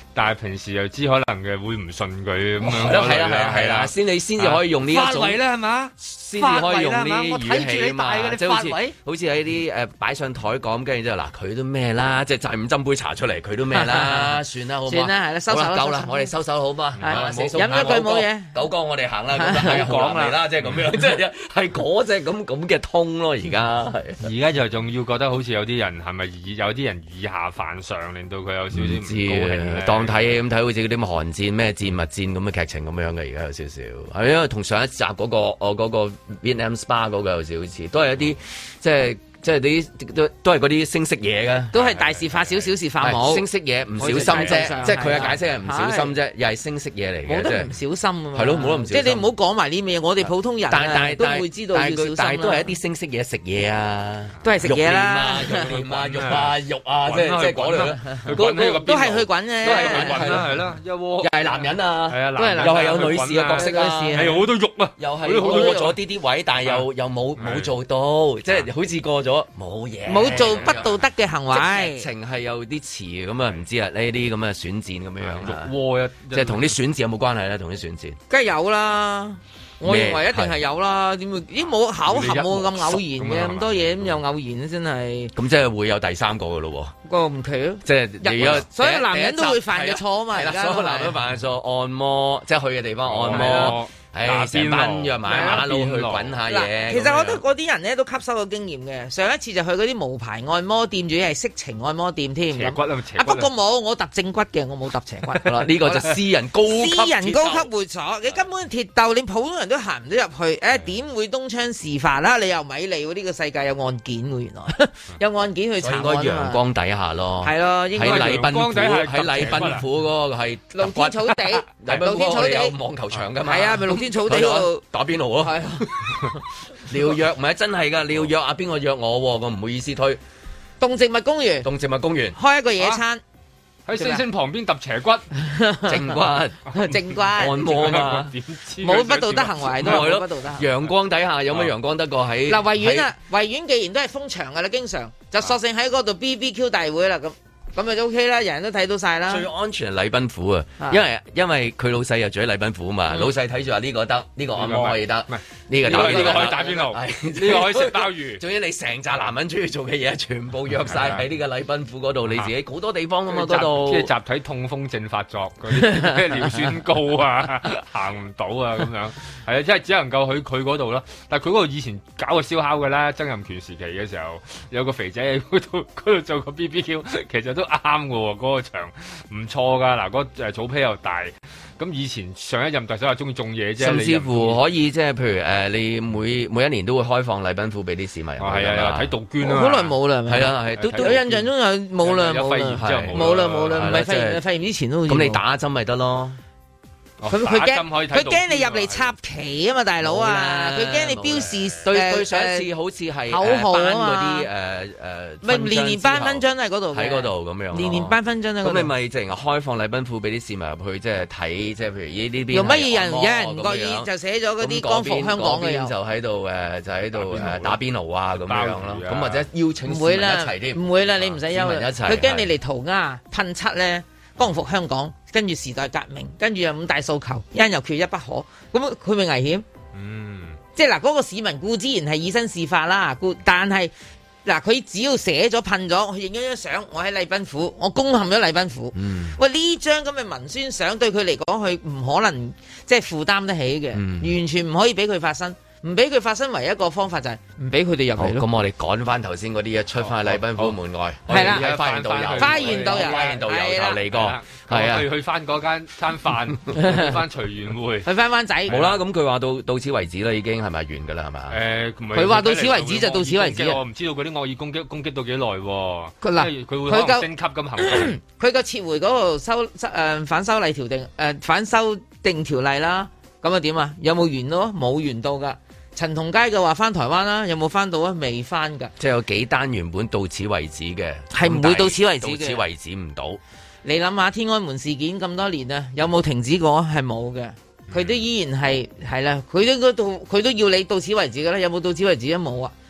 但係平時又知可能嘅會唔信佢咁樣。 係啦，先至可以用呢一種發圍啦係嘛？ 先至可以用呢啲語氣啊嘛，即係好似喺啲擺上台講，跟住之後嗱佢都咩啦，即係就咁斟杯茶出嚟，佢都咩啦，算啦好嘛？ 算啦係啦，收手啦， 夠啦，我哋收手好嘛？ 飲一句冇嘢， 九哥我哋行啦，咁就講嚟啦，即係咁樣，即係嗰隻咁嘅通咯，而家而家就仲要覺得好似有啲人係咪有啲人以下犯上，令到佢有少少唔高興， 當睇咁睇好似嗰啲寒戰咩戰物戰咁嘅劇情咁樣嘅，而家有少少係因為同上一集嗰個 Vietnam Spa 嗰個有少少似，都係一啲即係啲都係嗰啲聲色嘢嘅， 都係大事化小，小事化冇。 聲色嘢唔小心啫，即係佢嘅解釋係唔小心啫，又係聲色嘢嚟嘅， 冇得唔小心啊嘛。 係咯，冇得唔小心。即係你唔好講埋呢啲嘢，我哋普通人都會知道要小心。 但係都係一啲聲色嘢，食嘢啊， 都係食嘢啦， 肉啊，即係嗰類， 都係去滾嘅， 都係滾啦，係啦，一鍋又係男人啊， 係啊， 又係有女士嘅角色啊， 係好多肉啊， 又係過咗啲位，但係又冇做到，即係好似過咗。冇嘢， 冇做不道德嘅行為， 劇情係有啲詞咁啊，唔知啊呢啲咁嘅選戰咁樣樣， 肉即係同啲選戰有冇關係咧？同啲選戰， 梗係有啦，我認為一定係有啦。點會？咦，冇巧合，冇咁偶然嘅咁多嘢，咁又偶然真係。咁即係會有第三個嘅咯喎， 個唔奇咯。即係所有男人都會犯嘅錯啊嘛，而家所有男人都犯嘅錯，按摩即係去嘅地方按摩。成班約埋馬路去滾下嘢。 其實我覺得嗰啲人咧都吸收咗經驗嘅。上一次就去嗰啲無牌按摩店，仲要係色情按摩店添。 斜骨啊， 不過冇，我揼正骨嘅，我冇揼斜骨。 呢個就私人高級會所，你根本鐵竇，你普通人都行唔到入去。點會東窗事發啦？你又咪理喎？呢個世界有案件喎，原來有案件去查案。 應該陽光底下咯。 係咯，應該喺禮賓府嗰個係露天草地，露天草地有網球場㗎嘛？ 係啊，咪露天草地嗰度打邊爐咯。係啊，你要約唔係真係㗎？你要約邊個約我？我唔好意思推。 動植物公園開一個野餐。 喺星星旁邊揼斜骨， 正骨按摩嘛， 冇不道德行為都係不道德。 陽光底下有乜陽光得過喺嗱維園啊？維園既然都係封場噶啦，經常就索性喺嗰度 BBQ 大會啦咁咪就 OK 啦，人人都睇到晒啦。 最安全係禮賓府啊，因為佢老細又住喺禮賓府啊嘛，老細睇住話呢個得，呢個按摩可以得，呢個可以打邊爐，呢個可以食鮑魚。 總之你成紮男人中意做嘅嘢，全部約晒喺呢個禮賓府嗰度，你自己好多地方噶嘛嗰度。 即係集體痛風症發作嗰啲咩尿酸高啊，行唔到啊咁樣。係啊，即係只能夠去佢嗰度啦。但係佢嗰度以前搞個燒烤嘅啦，曾蔭權時期嘅時候，有個肥仔喺嗰度做個 BBQ，其實都啱嘅喎，嗰個場唔錯噶。嗱，嗰草皮又大。咁以前上一任特首話中意種嘢啫， 甚至乎可以即係譬如你每一年都會開放禮賓府俾啲市民。 係啊，睇杜鵑啊， 好耐冇啦， 係啊係，都有印象中有冇啦， 有肺炎之後冇啦，唔係肺炎之前都咁你打針咪得咯。 佢驚你入嚟插旗啊嘛，大佬啊！佢驚你標示對上一次好似係口號啊嘛， 咪年年頒勳章喺嗰度， 喺嗰度咁樣， 年年頒勳章喺嗰度。 咁你咪淨係開放禮賓府俾啲市民入去，即係睇，即係譬如呢邊用乜嘢人有人唔覺意就寫咗嗰啲光復香港嘅， 就喺度打邊爐啊咁樣咯。咁或者邀請市民一齊添， 唔會啦，你唔使憂啦。佢驚你嚟塗鴉噴漆咧。光復香港，跟住時代革命，跟住有五大訴求，一人又缺一不可，咁佢咪危險？即係嗱，嗰個市民固之然係以身試法啦，但係嗱，佢只要寫咗噴咗，佢影咗張相，我喺禮賓府，我攻陷咗禮賓府。喂，呢張咁嘅文宣相對佢嚟講，佢唔可能即係負擔得起嘅，完全唔可以俾佢發生。唔俾佢發生，唯一一個方法就係唔俾佢哋入嚟咯。 咁我哋趕翻頭先嗰啲嘢，出翻去禮賓府門外。 係啦， 花園導遊嚟過。係啊， 去翻嗰間餐飯，去翻隨緣會， 去翻灣仔。 冇啦，咁佢話到此為止啦，已經係咪完㗎啦？係嘛？ 佢話到此為止就到此為止。 我唔知道嗰啲惡意攻擊到幾耐喎。 嗱， 佢會可能升級咁行動。 佢個撤回嗰個反修例反修訂條例啦，咁啊點啊？有冇完咯？冇完到㗎。陳同佳嘅話翻台灣啦，有冇翻到啊？未翻㗎。即係有幾單原本到此為止嘅， 係唔會到此為止嘅。 到此為止唔到。 你諗下天安門事件咁多年啊，有冇停止過？係冇嘅，佢都依然係啦，佢都要你到此為止㗎啦。有冇到此為止啊？冇啊。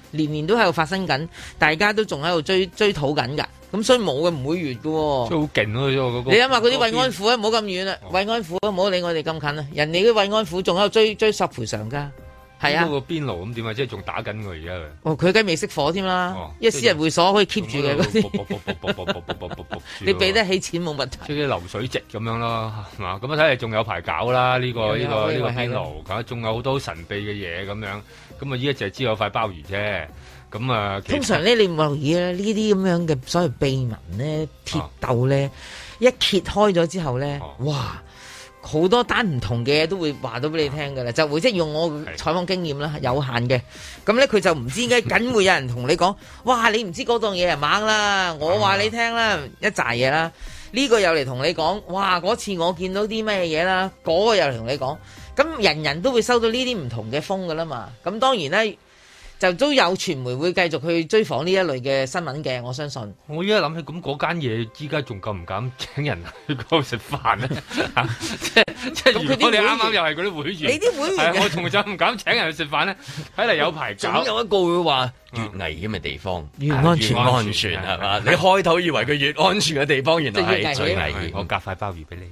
年年都喺度發生緊，大家都仲喺度追討緊㗎。咁所以冇嘅唔會完嘅喎。 真係好勁咯！ 你諗下嗰啲慰安婦啊，唔好咁遠啦，慰安婦唔好理我哋咁近啦，人哋啲慰安婦仲喺度追索賠償㗎。係啊， 嗰個邊爐咁點啊？即係仲打緊佢而家。 哦，佢梗係未熄火添啦，因為私人會所可以 keep 住嘅嗰啲。你俾得起錢冇問題。 即係啲流水席咁樣咯，係嘛？咁啊睇嚟仲有排搞啦，呢個邊爐，仲有好多神秘嘅嘢咁樣。咁啊依家就係知有塊鮑魚啫。咁啊， 通常咧你唔留意咧，呢啲咁樣嘅所謂秘聞咧、鐵竇咧，一揭開咗之後咧，哇！好多單唔同嘅嘢都會話到俾你聽㗎啦，就會即係用我採訪經驗啦，有限嘅。咁咧佢就唔知點解，梗會有人同你講，哇！你唔知嗰檔嘢係猛啦，我話你聽啦，一紮嘢啦。呢個又嚟同你講，哇！嗰次我見到啲咩嘢啦，嗰個又嚟同你講。咁人人都會收到呢啲唔同嘅風㗎啦嘛。咁當然咧。就都有傳媒會繼續去追訪呢一類嘅新聞嘅，我相信。 我依家諗起咁嗰間嘢，依家仲敢唔敢請人去嗰度食飯咧？即係如果你啱啱又係嗰啲會員， 你啲會員， 我仲就唔敢請人去食飯咧。睇嚟有排搞。 總有一個會話越危險嘅地方越安全， 係嘛？你開頭以為佢越安全嘅地方，原來係最危險。 我夾塊鮑魚俾你。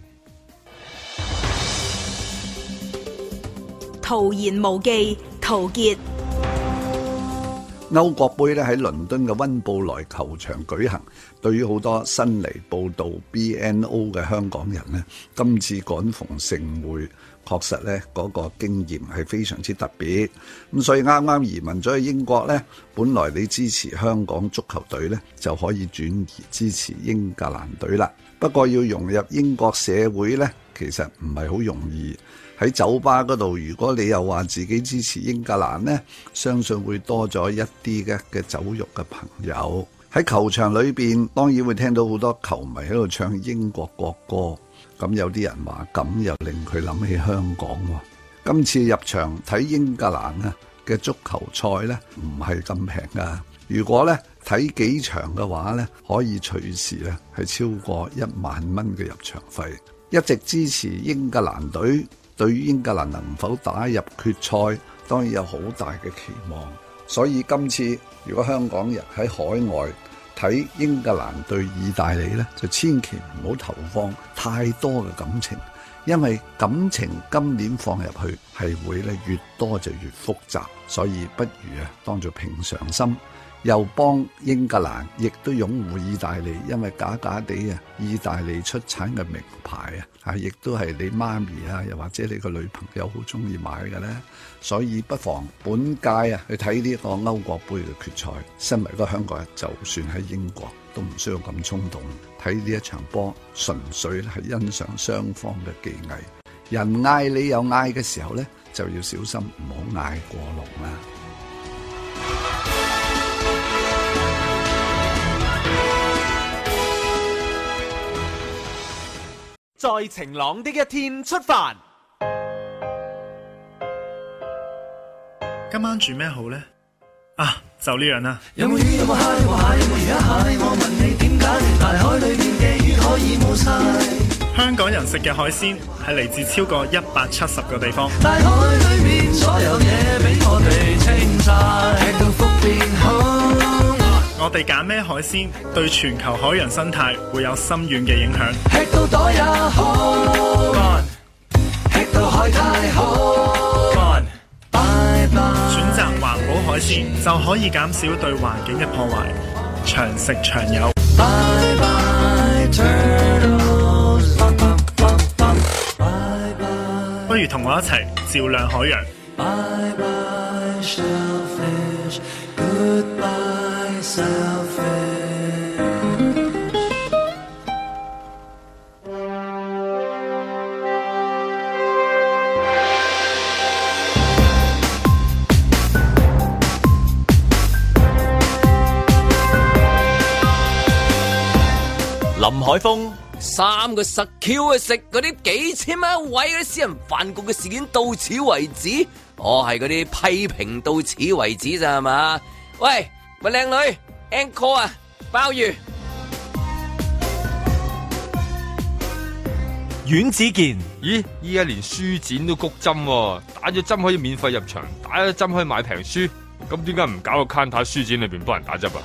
徒言無忌，陶傑。 歐國杯咧喺倫敦嘅溫布萊球場舉行，對於好多新嚟報道 BNO 嘅香港人呢，今次趕逢盛會，確實呢嗰個經驗係非常之特別。咁所以啱啱移民咗去英國呢，本來你支持香港足球隊呢，就可以轉移支持英格蘭隊啦。不過要融入英國社會呢，其實唔係好容易。喺酒吧嗰度，如果你又話自己支持英格蘭呢，相信會多咗一啲嘅酒肉嘅朋友。喺球場裏邊，當然會聽到好多球迷喺度唱英國國歌。咁有啲人話咁又令佢諗起香港喎。今次入場睇英格蘭嘅足球賽呢，唔係咁平㗎。如果呢睇幾場嘅話呢，可以隨時呢係超過1萬蚊嘅入場費。一直支持英格蘭隊。對於英格蘭能否打入決賽，當然有好大嘅期望。所以今次如果香港人喺海外睇英格蘭對意大利呢，就千祈唔好投放太多嘅感情，因為感情今年放入去係會咧越多就越複雜。所以不如當做平常心。又幫英格蘭，亦都擁護意大利，因為假假地意大利出產嘅名牌亦都係你媽咪又或者你個女朋友好中意買嘅咧，所以不妨本屆去睇呢個歐國杯嘅決賽。身為一個香港人，就算喺英國都唔需要咁衝動睇呢一場波，純粹係欣賞雙方嘅技藝。人嗌你有嗌嘅時候咧，就要小心唔好嗌過龍啦。 在晴朗的一天出發。 今晚煮咩好呢？就呢樣啦。 有冇魚有冇蝦有冇蟹有冇魚一蟹？我問你點解大海裏面嘅魚可以冇晒？ 香港人食嘅海鮮係嚟自超過170個地方。 大海裏面所有嘢俾我哋清晒，吃到福變好。 我哋揀咩海鮮，對全球海洋生態會有深遠嘅影響。 吃到袋也好，吃到海太好，拜拜。 選擇環保海鮮就可以減少對環境嘅破壞，長食長有。 拜拜 turtles， 拜拜。 不如同我一齊照亮海洋。 拜拜 shellfish， goodbye selfish。 林海峰 3個實 Q 去食嗰啲幾千蚊一位嗰啲私人飯局嘅事件到此為止，我係嗰啲批評到此為止咋係嘛？喂，咪靚女 encore 啊，鮑魚。 阮子健， 咦？依家連書展都谷針喎，打咗針可以免費入場，打咗針可以買平書。 咁點解唔搞個 counter 書展裏邊幫人打針啊？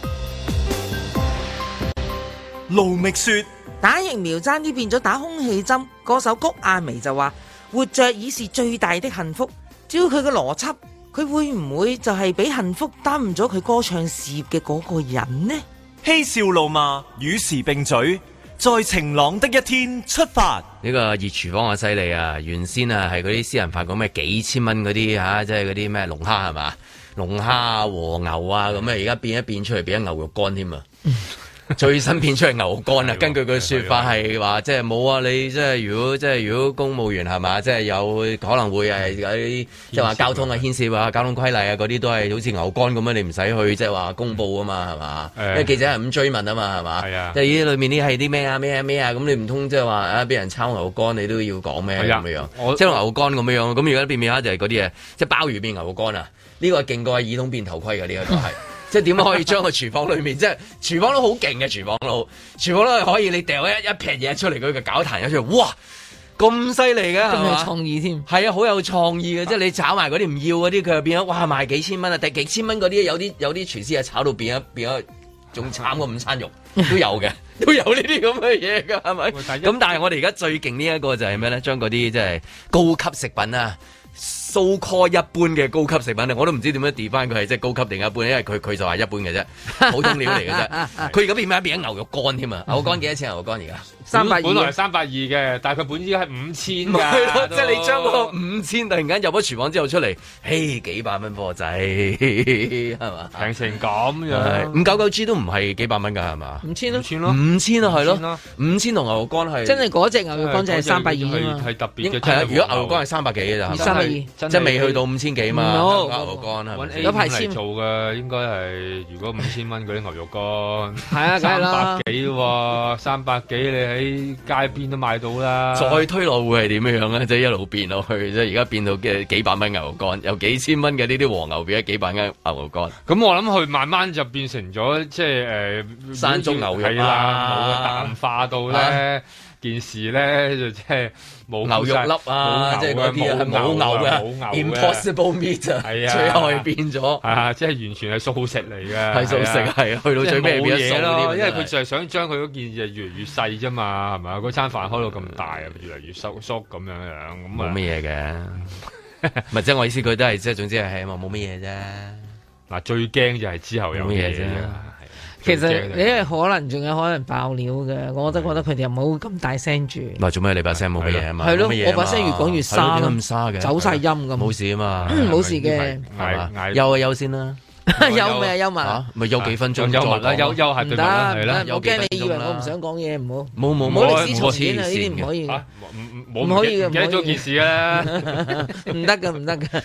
盧覓雪打疫苗爭啲變咗打空氣針，歌手谷婭溦就話活着已是最大的幸福。只要佢嘅邏輯，佢會唔會就係俾幸福耽誤咗佢歌唱事業嘅嗰個人呢？ 嬉笑怒罵與時並舉，在晴朗的一天出發。 呢個熱廚房啊犀利啊！原先啊係嗰啲私人飯講咩幾千蚊嗰啲嚇，即係嗰啲咩龍蝦係嘛？龍蝦啊和牛啊咁啊，而家變一變出嚟變咗牛肉乾添啊！最新變出嚟牛肉乾啊！根據佢説法係話，即係冇啊！你即係如果公務員係嘛，即係有可能會係有啲即係話交通啊牽涉啊交通規例啊嗰啲都係好似牛肝咁樣，你唔使去即係話公佈啊嘛係嘛？因為記者係咁追問啊嘛係嘛？即係呢裏面啲係啲咩啊咩啊咁你唔通即係話啊俾人抄牛肝你都要講咩咁樣？即係牛肝咁樣咁而家變下就係嗰啲嘢，即係鮑魚變牛肉乾啊！呢個係勁過耳筒變頭盔嘅呢一個係。即係點可以將個廚房裏面，即係廚房都好勁嘅廚房佬係可以你掉一撇嘢出嚟，佢嘅攪壇咗出嚟，哇咁犀利嘅， 咁有創意添， 係啊，好有創意嘅，即係你炒埋嗰啲唔要嗰啲，佢又變咗哇賣幾千蚊啊！幾千蚊嗰啲有啲廚師啊炒到變咗仲慘過午餐肉都有嘅，都有呢啲咁嘅嘢㗎，係咪？咁但係我哋而家最勁呢一個就係咩咧？將嗰啲即係高級食品啊！so call 一般嘅高級食品我都唔知點樣 define 佢係即係高級定一般，因為佢就話一般嘅啫，普通料嚟嘅啫。佢而家變咗牛肉乾添啊！牛肉乾幾多錢？牛肉乾而家 320， 本來係320嘅，但係佢本應係5000㗎。 係咯，即係你將個5000突然間入咗廚房之後出嚟，嘿幾百蚊貨仔係嘛？ 平成咁樣 599G 都唔係幾百蚊㗎係嘛 ？5000 咯 ，5000啊係咯，5000同牛肉乾係真係嗰隻牛肉乾就係320啊， 係特別嘅。 係啊，如果牛肉乾係300幾嘅咋 ，320。 即係未去到5000幾嘛，牛肉乾係咪？ 有排簽做嘅應該係，如果5000蚊嗰啲牛肉乾， 係啊，梗係啦 ，300幾喎，300幾你喺街邊都買到啦。 再推落會係點樣咧？即係一路變落去，即係而家變到嘅幾百蚊牛肉乾，由幾千蚊嘅呢啲和牛變咗幾百蚊牛肉乾。 咁我諗佢慢慢就變成咗即係山中牛肉啦，冇淡化到咧。件事咧就即係冇牛肉粒啊，即係嗰啲係冇牛嘅 impossible meat 啊，係啊，最後係變咗啊，即係完全係素食嚟嘅， 係素食係啊，去到最尾變咗素咯，因為佢就係想將佢嗰件嘢越嚟越細啫嘛，係咪啊？嗰餐飯開到咁大啊，越嚟越縮咁樣咁冇乜嘢嘅，唔係即係我意思，佢都係即係總之係希望冇乜嘢啫。 嗱，最驚就係之後有嘢啫。 其實你係可能仲有可能爆料嘅，我都覺得佢哋又冇咁大聲住。 唔係做咩？你把聲冇乜嘢啊嘛？ 係咯，我把聲越講越沙， 咁沙嘅， 走晒音咁。 冇事啊嘛， 冇事嘅， 係嘛？休啊休先啦， 休咪休埋， 咪休幾分鐘休埋啦，休下對啦，係啦。 我驚你以為我唔想講嘢，唔好。 冇歷史重演啊！呢啲唔可以。 唔可以嘅，唔記得咗件事啦， 唔得㗎，唔得㗎，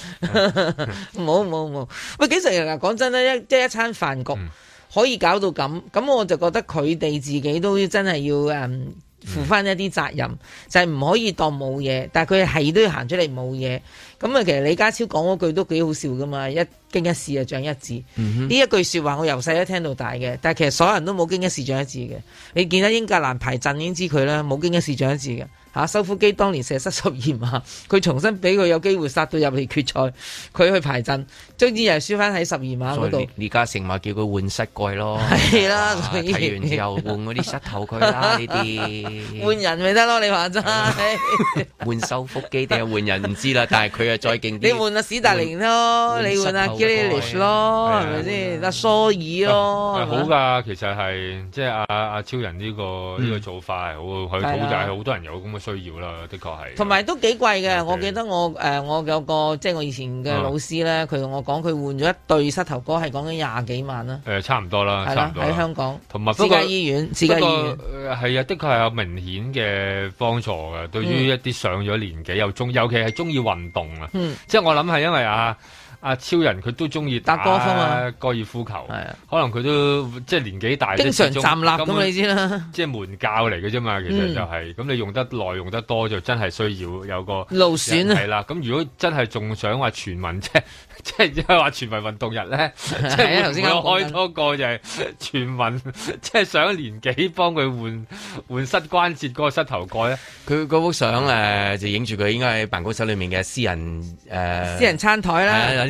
冇。喂，其實嗱，講真咧，即係一餐飯局。可以搞到咁我就覺得佢哋自己都真係要負翻一啲責任，就係唔可以當冇嘢，但係佢係都要行出嚟冇嘢。咁啊，其實李家超講嗰句都幾好笑噶嘛，一經一事就長一智。呢一句說話我由細都聽到大嘅，但係其實所有人都冇經一事長一智嘅。你見到英格蘭排陣已經知佢啦，冇經一事長一智嘅。修夫基當年射失12碼，佢重新俾佢有機會殺到入嚟決賽，佢去排陣，終之又係輸翻喺12碼嗰度。 李嘉誠話叫佢換膝蓋咯， 係啦， 睇完之後換嗰啲膝頭佢啦，呢啲換人咪得咯，你話齋換修夫基定係換人唔知啦，但係佢啊再勁啲。 你換阿史達寧咯，你換阿 Grealish 咯，係咪先？阿蘇爾咯， 好㗎，其實係即係阿超人呢個做法係好，佢就係好多人有咁嘅需要啦，的確係。同埋都幾貴嘅，我記得我有個即係我以前嘅老師咧，佢同我講，佢換咗一對膝頭哥係講緊20幾萬啦。 差唔多啦， 係啦，喺香港。 同埋私家醫院， 係啊，的確係有明顯嘅幫助嘅，對於一啲上咗年紀尤其係中意運動啊。即係我諗係因為阿超人佢都中意打歌風啊， 高爾夫球，可能佢都即係年紀大， 經常站立咁你知啦， 即係門教嚟嘅啫嘛，其實就係咁你用得耐用得多就真係需要有個勞損啊， 係啦。咁如果真係仲想話全民即係話全民運動日咧，即係頭先開多個就係全民，即係上一年紀幫佢換膝關節嗰個膝頭蓋咧。 佢嗰幅相就影住佢應該喺辦公室裏面嘅私人餐台啦。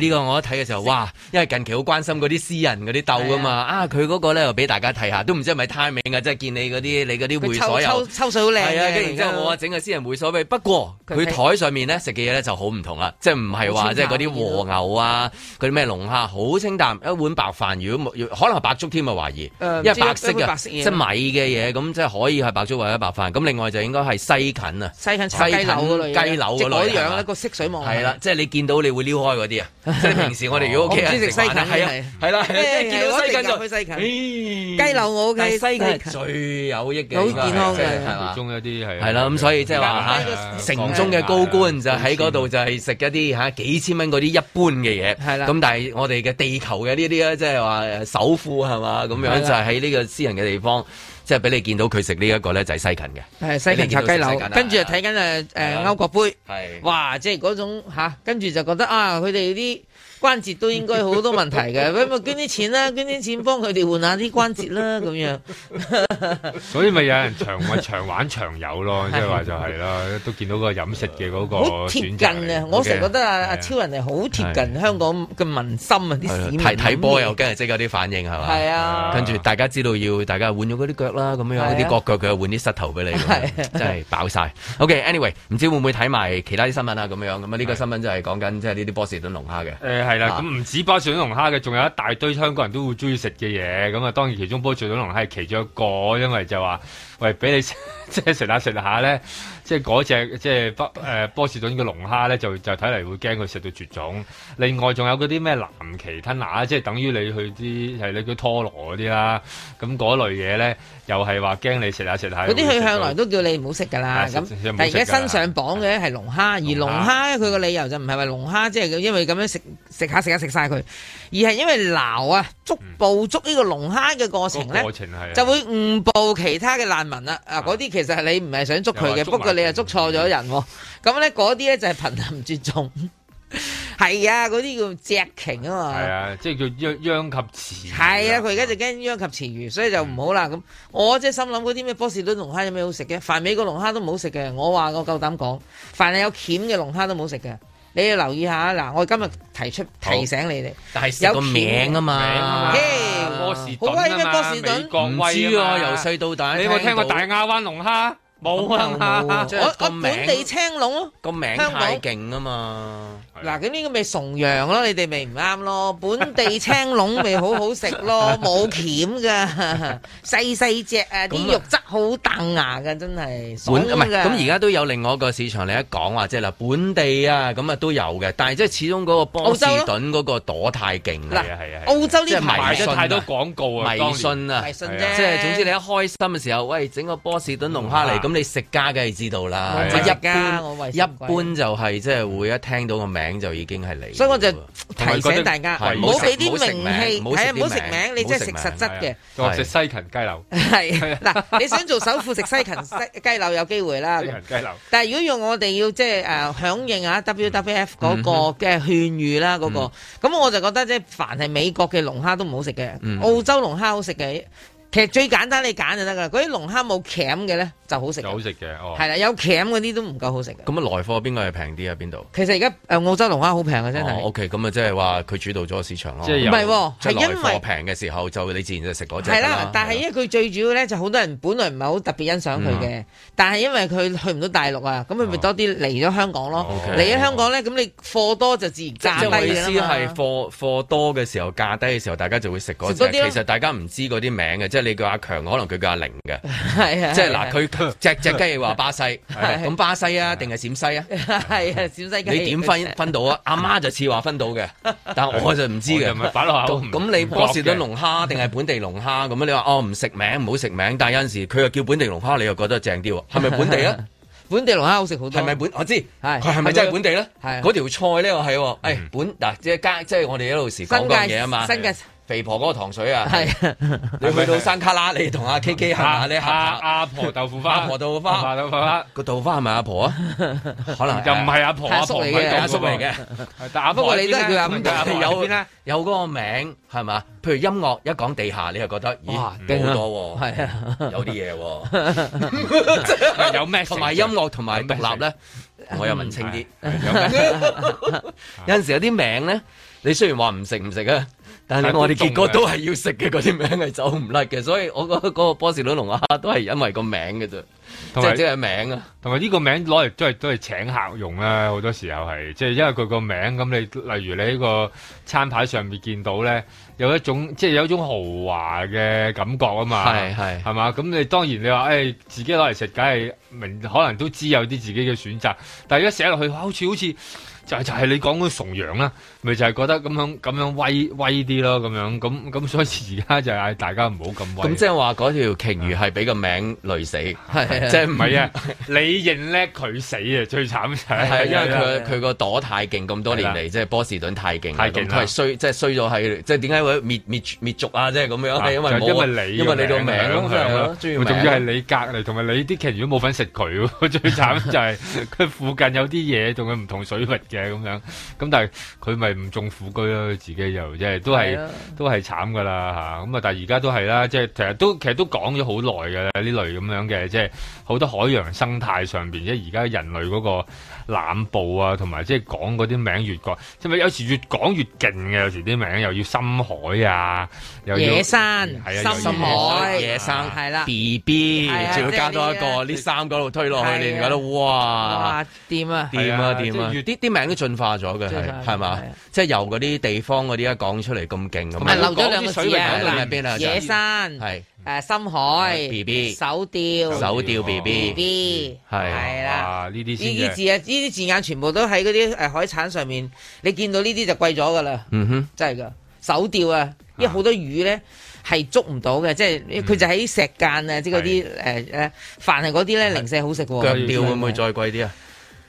呢個我一睇嘅時候，哇！因為近期好關心嗰啲私人嗰啲鬥噶嘛，佢嗰個咧又俾大家睇下，都唔知係咪 timing 啊，即係見你嗰啲會所又抽水好靚嘅， 係啊，跟住然之後我整個私人會所俾，不過佢台上面咧食嘅嘢咧就好唔同啦，即係唔係話即係嗰啲和牛啊，嗰啲咩龍蝦，好清淡，一碗白飯，如果冇可能係白粥添啊，懷疑，因為白色嘅，即係米嘅嘢，咁即係可以係白粥或者白飯，咁另外就應該係西芹啊， 西芹炒雞柳嗰類， 雞柳嗰類， 即係嗰樣一個色水網係啦，即係你見到你會撩開嗰啲啊，即係平時我哋如果屋企人食西芹係啦，見到西芹就去西芹，雞柳我屋企西芹最有益嘅， 好健康嘅， 係嘛？ 中一啲係啦，咁所以即係話嚇城中嘅高官就喺嗰度就係食一啲嚇幾千蚊嗰啲一般嘅嘢，係啦。咁但係我哋嘅地球嘅呢啲咧，即係話首富係嘛咁樣，就係喺呢個私人嘅地方。即係俾你見到佢食呢一個咧，就係西芹嘅，係西芹炒雞柳，跟住就睇緊歐國杯，哇！即係嗰種跟住就覺得啊，佢哋啲關節都應該好多問題嘅，咁咪捐啲錢啦，捐啲錢幫佢哋換下啲關節啦，咁樣。 所以咪有人長玩長有咯，即係話就係啦，都見到個飲食嘅嗰個好貼近啊！我成日覺得阿超人係好貼近香港嘅民心啊！啲市民睇波又跟住即有啲反應係嘛？係啊，跟住大家知道要大家換咗嗰啲腳啦，咁樣啲角佢又換啲膝頭俾你，真係飽晒。OK，anyway， 唔知會唔會睇埋其他啲新聞啊？咁樣咁啊？呢個新聞就係講緊即係呢啲波士頓龍蝦嘅。 係啦，咁唔止波士頓龍蝦嘅，仲有一大堆香港人都會中意食嘅嘢。咁啊，當然其中波士頓龍蝦係其中一個，因為就話喂俾你即係食下咧，即係嗰隻即係波士頓嘅龍蝦咧，就睇嚟會驚佢食到絕種。另外仲有嗰啲咩藍鰭吞拿，即係等於你去啲係你叫拖羅嗰啲啦。咁嗰類嘢咧，又係話驚你食下。 嗰啲佢向來都叫你唔好食㗎啦。咁但係而家新上榜嘅係龍蝦，而龍蝦佢個理由就唔係話龍蝦即係因為咁樣食下食晒佢，而係因為撈啊捕捉呢個龍蝦嘅過程咧，就會誤捕其他嘅難民啦。嗰啲其實係你唔係想捉佢嘅，不過你又捉錯咗人。咁咧嗰啲咧就係瀕臨絕種。係啊，嗰啲叫隻鯨啊嘛。係啊，即係叫殃及池魚。 係啊，佢而家就驚殃及池魚，所以就唔好啦。咁我即係心諗嗰啲咩波士頓龍蝦有咩好食嘅？凡美國龍蝦都唔好食嘅。我話我夠膽講，凡係有鉗嘅龍蝦都唔好食嘅。你要留意下嗱，我今日提醒你哋， 但係有個名啊嘛， 波士頓好威咩？波士頓唔知啊，由細到大， 你有冇聽過大亞灣龍蝦？冇啊！ 我本地青龍咯， 個名太勁啊嘛！ 嗱，咁呢個咪崇洋咯，你哋咪唔啱咯。本地青龍咪好好食咯，冇鉗噶，細隻啊，啲肉質好彈牙噶，真係爽噶。 咁而家都有另外一個市場，你一講話即係嗱，本地啊，咁啊都有嘅，但係即係始終嗰個波士頓嗰個朵太勁啦。 係澳洲呢排賣咗太多廣告啊， 迷信啊， 迷信啫。 即係總之你一開心嘅時候，喂，整個波士頓龍蝦嚟，咁你食家梗係知道啦。即係一般就係即係會一聽到個名就已經係嚟。所以我就提醒大家，唔好俾啲名氣，係啊，唔好食名，你即係食實質嘅。 我食西芹雞柳。 係嗱，你想做首富食西芹雞柳有機會啦。 西芹雞柳。 但係如果用我哋要即係響應啊 WWF 嗰個嘅勸喻啦，嗰個咁我就覺得即係凡係美國嘅龍蝦都唔好食嘅，澳洲龍蝦好食嘅。其實最簡單你揀就得噶啦，嗰啲龍蝦冇鉗嘅咧就好食。 就好食嘅，哦。係啦，有鉗嗰啲都唔夠好食嘅。 咁啊，來貨邊個係平啲啊？邊度？ 其實而家澳洲龍蝦好平啊，真係。 OK，咁啊，即係話佢主導咗個市場咯。 即係唔係，係因為來貨平嘅時候，就你自然就食嗰隻。 係啦，但係因為佢最主要咧，就好多人本來唔係好特別欣賞佢嘅，但係因為佢去唔到大陸啊，咁佢咪多啲嚟咗香港咯。嚟咗香港咧，咁你貨多就自然價低啦嘛。 即係意思係貨多嘅時候，價低嘅時候，大家就會食嗰隻。其實大家唔知嗰啲名嘅，即係你叫阿強，可能佢叫阿玲嘅。係啊，即係嗱，佢隻雞話巴西，咁巴西啊定係陝西啊？ 係啊，陝西雞。 你點分到啊？阿媽就似話分到嘅，但我就唔知嘅。咁你波士頓龍蝦定係本地龍蝦咁？你話唔食名唔好食名，但係有陣時佢又叫本地龍蝦，你又覺得正啲喎？係咪本地啊？ 本地龍蝦好食好多。 係咪我知，佢係咪真係本地咧？嗰條菜咧，我係本嗱，即係我哋一路時講嗰嘢啊嘛。肥婆嗰個糖水啊，係你去到山卡拉，你同阿 KK 行下，你阿婆豆腐花， 阿婆豆腐花，個豆腐花係咪阿婆啊？可能又唔係阿婆， 阿叔嚟嘅， 阿叔嚟嘅。 但阿婆你都係叫阿婆， 有嗰個名係嘛？譬如音樂一講地下，你又覺得咦好多喎，係啊，有啲嘢喎， 有咩？ 同埋音樂同埋獨立咧，我又文青啲。有陣時有啲名咧。 你雖然話唔食啊，但係我哋結果都係要食嘅，嗰啲名係走唔甩嘅，所以我覺得嗰個波士頓龍蝦都係因為個名嘅啫，即係名啊。 同埋呢個名攞嚟都係請客用啦，好多時候係即係因為佢個名咁，你例如你喺個餐牌上面見到咧，有一種豪華嘅感覺啊嘛，係嘛？咁你當然你話自己攞嚟食，梗係可能都知有啲自己嘅選擇，但係而家寫落去好似。就係你講嗰崇洋啦，咪就係覺得咁樣威啲咯，咁所以而家就嗌大家唔好咁威。 咁即係話嗰條鯨魚係俾個名累死，係即係唔係啊？你認叻佢死啊！最慘就係因為佢個朵太勁，咁多年嚟即係波士頓太勁，佢係衰咗係即係點解會滅族啊？即係咁樣係因為你個名咯， 仲要係你隔離，同埋你啲鯨魚都冇份食佢，最慘就係佢附近有啲嘢同佢唔同水域嘅咁樣，咁但係佢咪唔中虎居咯，自己又即係都係慘噶啦嚇，咁啊但係而家都係啦，即係其實都講咗好耐嘅啦，呢類咁樣嘅即係好多海洋生態上邊，即係而家人類嗰個濫捕啊，同埋即係講嗰啲名越講，即係有時越講越勁嘅，有時啲名又要深海啊，又要野山、深海、 野生係啦 ，BB 仲要加多一個呢三個度推落去，你覺得哇掂啊！ 啲名都進化咗嘅係嘛？即係由嗰啲地方嗰啲一講出嚟咁勁咁。 係漏咗兩個字啊！ 野山係深海 BB 手釣 BB 係啦。 呢啲呢啲字眼全部都喺嗰啲海產上面，你見到呢啲就貴咗噶啦。真係噶手釣啊！因為好多魚咧係捉唔到嘅，即係佢就喺石間啊，即係嗰啲凡係嗰啲咧零舍好食喎。 腳釣會唔會再貴啲啊？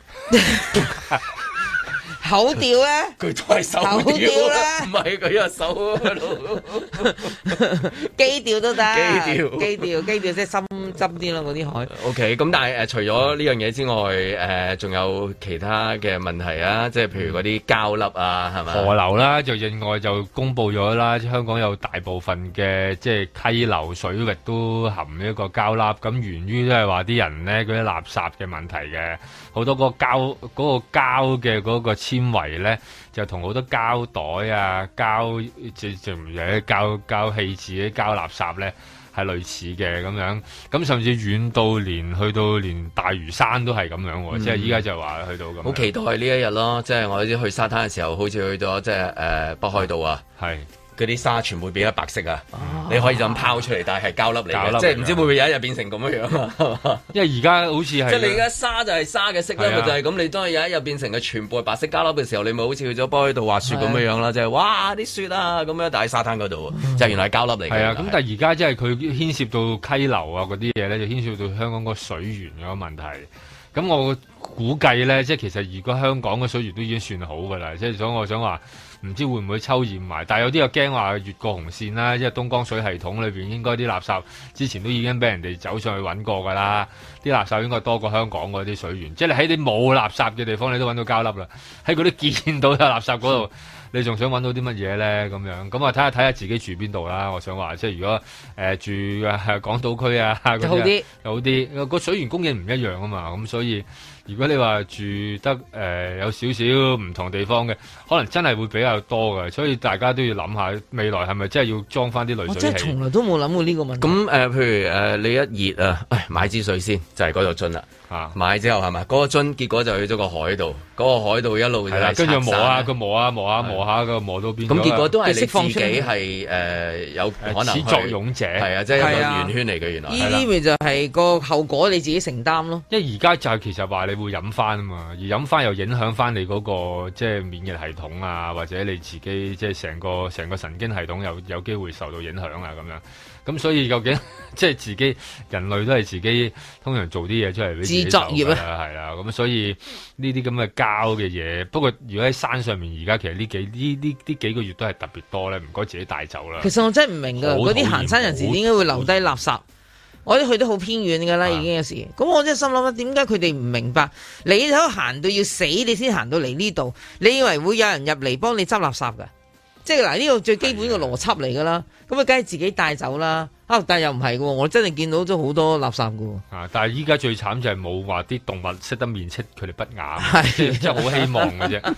口釣咧， 佢都係手釣啦，唔係佢有手喺度。 機釣都得，機釣即係深針啲咯，嗰啲海。 OK， 咁但係除咗呢樣嘢之外，仲有其他嘅問題啊，即係譬如嗰啲膠粒啊，係咪？ 河流啦，就另外就公佈咗啦，香港有大部分嘅即係溪流水域都含呢一個膠粒，咁源於都係話啲人咧嗰啲垃圾嘅問題嘅，好多嗰個膠嘅嗰個纖維咧，就同好多膠袋啊、膠即係唔係膠棄置啲膠垃圾咧，係類似嘅咁樣。咁甚至遠到去到連大嶼山都係咁樣喎，即係依家就話去到咁。 好期待呢一日咯，即係我啲去沙灘嘅時候，好似去咗即係北海道啊，係。嗰啲沙全部變咗白色啊！你可以就咁拋出嚟，但係膠粒嚟嘅，即係唔知會唔會有一日變成咁樣啊？ 因為而家好似係即係你而家沙就係沙嘅色啦，咪就係咁。你當有一日變成嘅全部係白色膠粒嘅時候，你咪好似去咗北海道滑雪咁樣啦，即係哇啲雪啊咁樣，但喺沙灘嗰度就原來係膠粒嚟嘅。係啊， 咁但係而家即係佢牽涉到溪流啊嗰啲嘢咧，就牽涉到香港個水源嗰個問題。咁我估計咧，即係其實如果香港嘅水源都已經算好㗎啦，即係所以我想話。唔知會唔會抽驗埋，但係有啲又驚話越過紅線啦，因為東江水系統裏邊應該啲垃圾之前都已經俾人哋走上去揾過㗎啦，啲垃圾應該多過香港嗰啲水源，即係你喺啲冇垃圾嘅地方你都揾到膠粒啦，喺嗰啲見到有垃圾嗰度，你仲想揾到啲乜嘢咧？咁樣咁啊睇下自己住邊度啦。我想話即係如果住港島區啊，就好啲，個水源供應唔一樣啊嘛，咁所以。如果你話住得有少少唔同地方嘅，可能真係會比較多嘅，所以大家都要諗下未來係咪真係要裝翻啲濾水器？ 我真係從來都冇諗過呢個問題。 咁譬如你一熱啊，買支水先，就係嗰度樽啦。買之後係咪嗰個樽？結果就去咗個海度，嗰個海度一路就跟住磨下個磨到邊？ 咁結果都係你自己係有可能始作俑者， 係啊，即係一個圓圈嚟嘅原來。 呢啲咪就係個後果，你自己承擔咯。 因為而家就係其實話你會飲翻啊嘛，而飲翻又影響翻你嗰個即係免疫系統啊，或者你自己即係成個神經系統有機會受到影響啊咁樣。咁所以究竟即係自己人類都係自己通常做啲嘢出嚟俾自己受㗎啦，係啦。咁所以呢啲咁嘅膠嘅嘢，不過如果喺山上面而家其實呢幾個月都係特別多咧，唔該自己帶走啦。 其實我真係唔明㗎，嗰啲行山人士點解會留低垃圾？我哋去得好偏遠㗎啦，已經有時。咁我真係心諗點解佢哋唔明白？你都行到要死，你先行到嚟呢度，你以為會有人入嚟幫你執垃圾㗎？即係嗱，呢個最基本嘅邏輯嚟㗎啦。咁啊，梗係自己帶走啦。但係又唔係喎，我真係見到咗好多垃圾㗎喎。 但係依家最慘就係冇話啲動物識得面斥佢哋不雅，即係好希望嘅啫。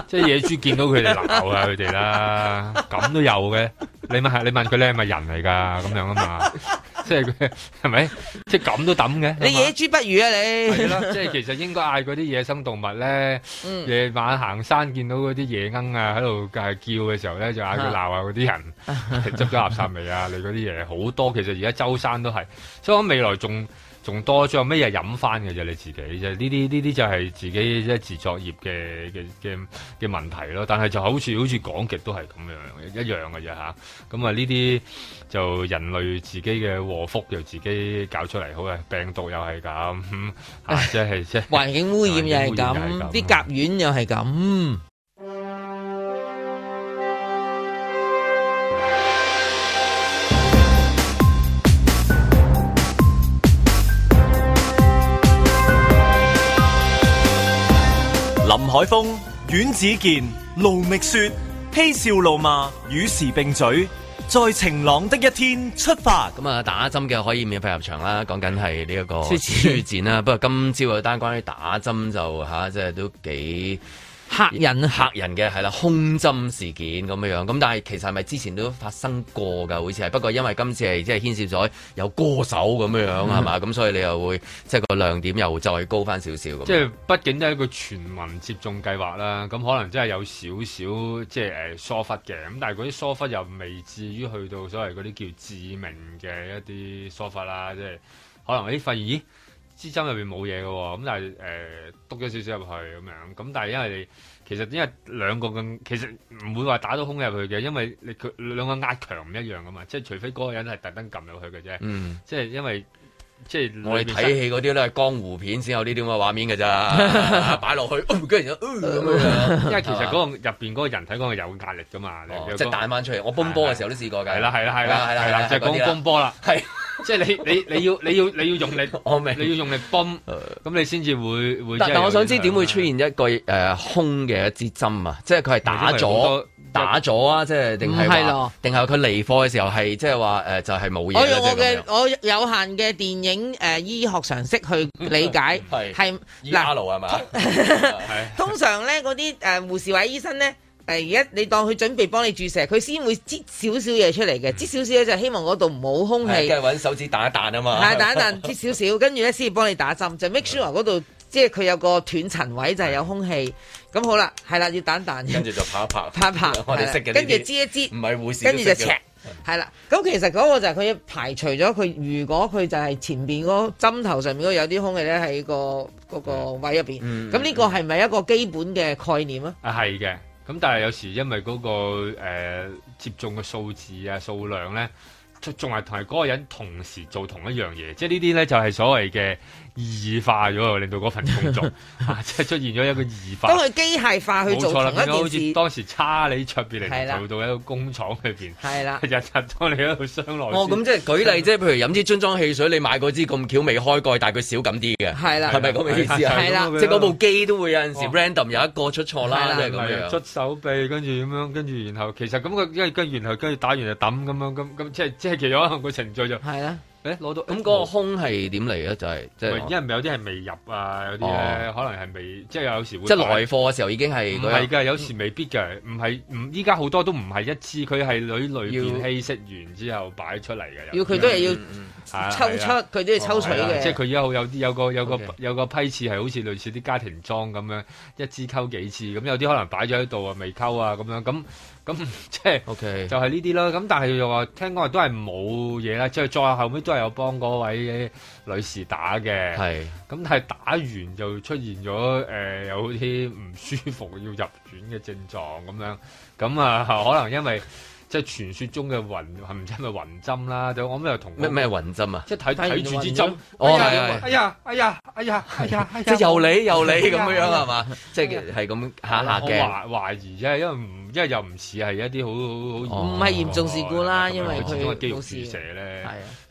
即係野豬見到佢哋鬧啊佢哋啦，咁都有嘅。你問佢你係咪人嚟㗎？咁樣啊嘛，即係佢係咪？即係咁都抌嘅。 你野豬不如啊你！ 係啦，即係其實應該嗌嗰啲野生動物咧，夜晚行山見到嗰啲野鶯啊喺度叫嘅時候咧，就嗌佢鬧下嗰啲人執咗垃圾未啊？你嗰啲嘢好多，其實而家周山都係，所以我未來仲多，仲有咩嘢飲翻嘅啫？你自己啫，呢啲就係自己即係自作業嘅問題咯。但係就好似講極都係咁樣一樣嘅啫嚇。咁啊呢啲就人類自己嘅禍福，又自己搞出嚟，好嘅病毒又係咁，即係環境污染又係咁，啲甲烷又係咁。 林海峰、阮子健、盧覓雪，嬉笑怒罵，與時並舉，在晴朗的一天出發。 咁啊，打針嘅可以免費入場啦，講緊係呢一個書展啦。不過今朝有單關於打針就即係都幾嚇人嘅係啦，空針事件咁樣。咁但係其實係咪之前都發生過㗎？好似係，不過因為今次係即係牽涉咗有歌手咁樣係嘛，咁所以你又會即係個亮點又再高翻少少咁。即係畢竟都係一個全民接種計劃啦，咁可能真係有少少即係疏忽嘅。咁但係嗰啲疏忽又未至於去到所謂嗰啲叫致命嘅一啲疏忽啦，即係可能發現咦支針入邊冇嘢嘅喎，咁但係篤咗少少入去咁樣，咁但係因為因為兩個咁，其實唔會話打到空入去嘅，因為佢兩個壓強唔一樣噶嘛，即係除非嗰個人係特登撳入去嘅啫，即係因為即係我哋睇戲嗰啲咧係江湖片先有呢啲咁嘅畫面㗎咋，擺落去跟住咁樣， 因為其實嗰個入邊嗰個人體嗰個有壓力噶嘛， 即係彈翻出嚟。我泵波嘅時候都試過㗎。 係啦，就係講泵波啦。係。即係你要用力，我明你要用力泵，咁你先至會。 但我想知點會出現一個空嘅一支針啊？即係佢係打咗啊！即係定係佢離貨嘅時候係即係話就係冇嘢。 我用我有限嘅電影醫學常識去理解係嗱係嘛？ 通常咧嗰啲護士或者醫生咧。而家你當佢準備幫你注射，佢先會擠少少嘢出嚟嘅，擠少少咧就希望嗰度冇空氣。 跟住揾手指彈一彈啊嘛。 係彈一彈，擠少少，跟住咧先至幫你打針，就 make sure 嗰度即係佢有個斷層位就係有空氣。咁好啦，係啦，要彈一彈。 跟住就拍一拍，我哋識嘅。 跟住擠一擠， 唔係護士。 跟住就赤，係啦。咁其實嗰個就係佢排除咗佢，如果佢就係前邊嗰針頭上面嗰有啲空氣咧喺嗰個位入邊。咁呢個係咪一個基本嘅概念啊？ 係嘅。咁但係有時因為嗰個接種嘅數字啊數量咧，仲係同係嗰個人同時做同一樣嘢，即係呢啲咧就係所謂嘅異化咗，令到嗰份工作即係出現咗一個異化。 當佢機械化去做同一件事， 好似當時差你出邊嚟做到一個工廠裏邊，係啦，日日當你喺度商內。 咁即係舉例，即係譬如飲支樽裝汽水，你買嗰支咁巧未開蓋，但係佢少咁啲嘅，係啦，係咪咁嘅意思啊？係啦，即係嗰部機都會有陣時 random 有一個出錯啦，即係咁樣。 捽手臂，跟住咁樣，跟住然後其實咁佢因為跟住打完就抌咁樣，咁即係其實可能個程序就係啦。攞到咁嗰個空係點嚟咧？就係即係， 因為有啲係未入啊，有啲咧可能係未，即係有時會即係來貨嘅時候已經係唔係㗎，有時未必㗎，依家好多都唔係一支，佢係裏邊稀釋完之後擺出嚟嘅。 要佢都係要抽出，佢都要抽取嘅。 即係佢有個批次係好似類似啲家庭裝咁樣，一支溝幾次，咁有啲可能擺咗喺度啊，未溝啊咁樣咁即係 OK 就係呢啲啦。咁但係又話聽講都係冇嘢啦，即係再後尾都係有幫嗰位女士打嘅。係咁，但係打完就出現咗有啲唔舒服要入院嘅症狀咁樣。咁啊，可能因為即係傳說中嘅暈係唔知係咪暈針啦？就我咁又同咩暈針啊？ 即係睇住支針。哎呀！ 即係又你咁樣係嘛？即係咁下嘅。 我懷疑啫，因為又唔似係一啲好唔係嚴重事故啦，因為佢始終係肌肉注射咧。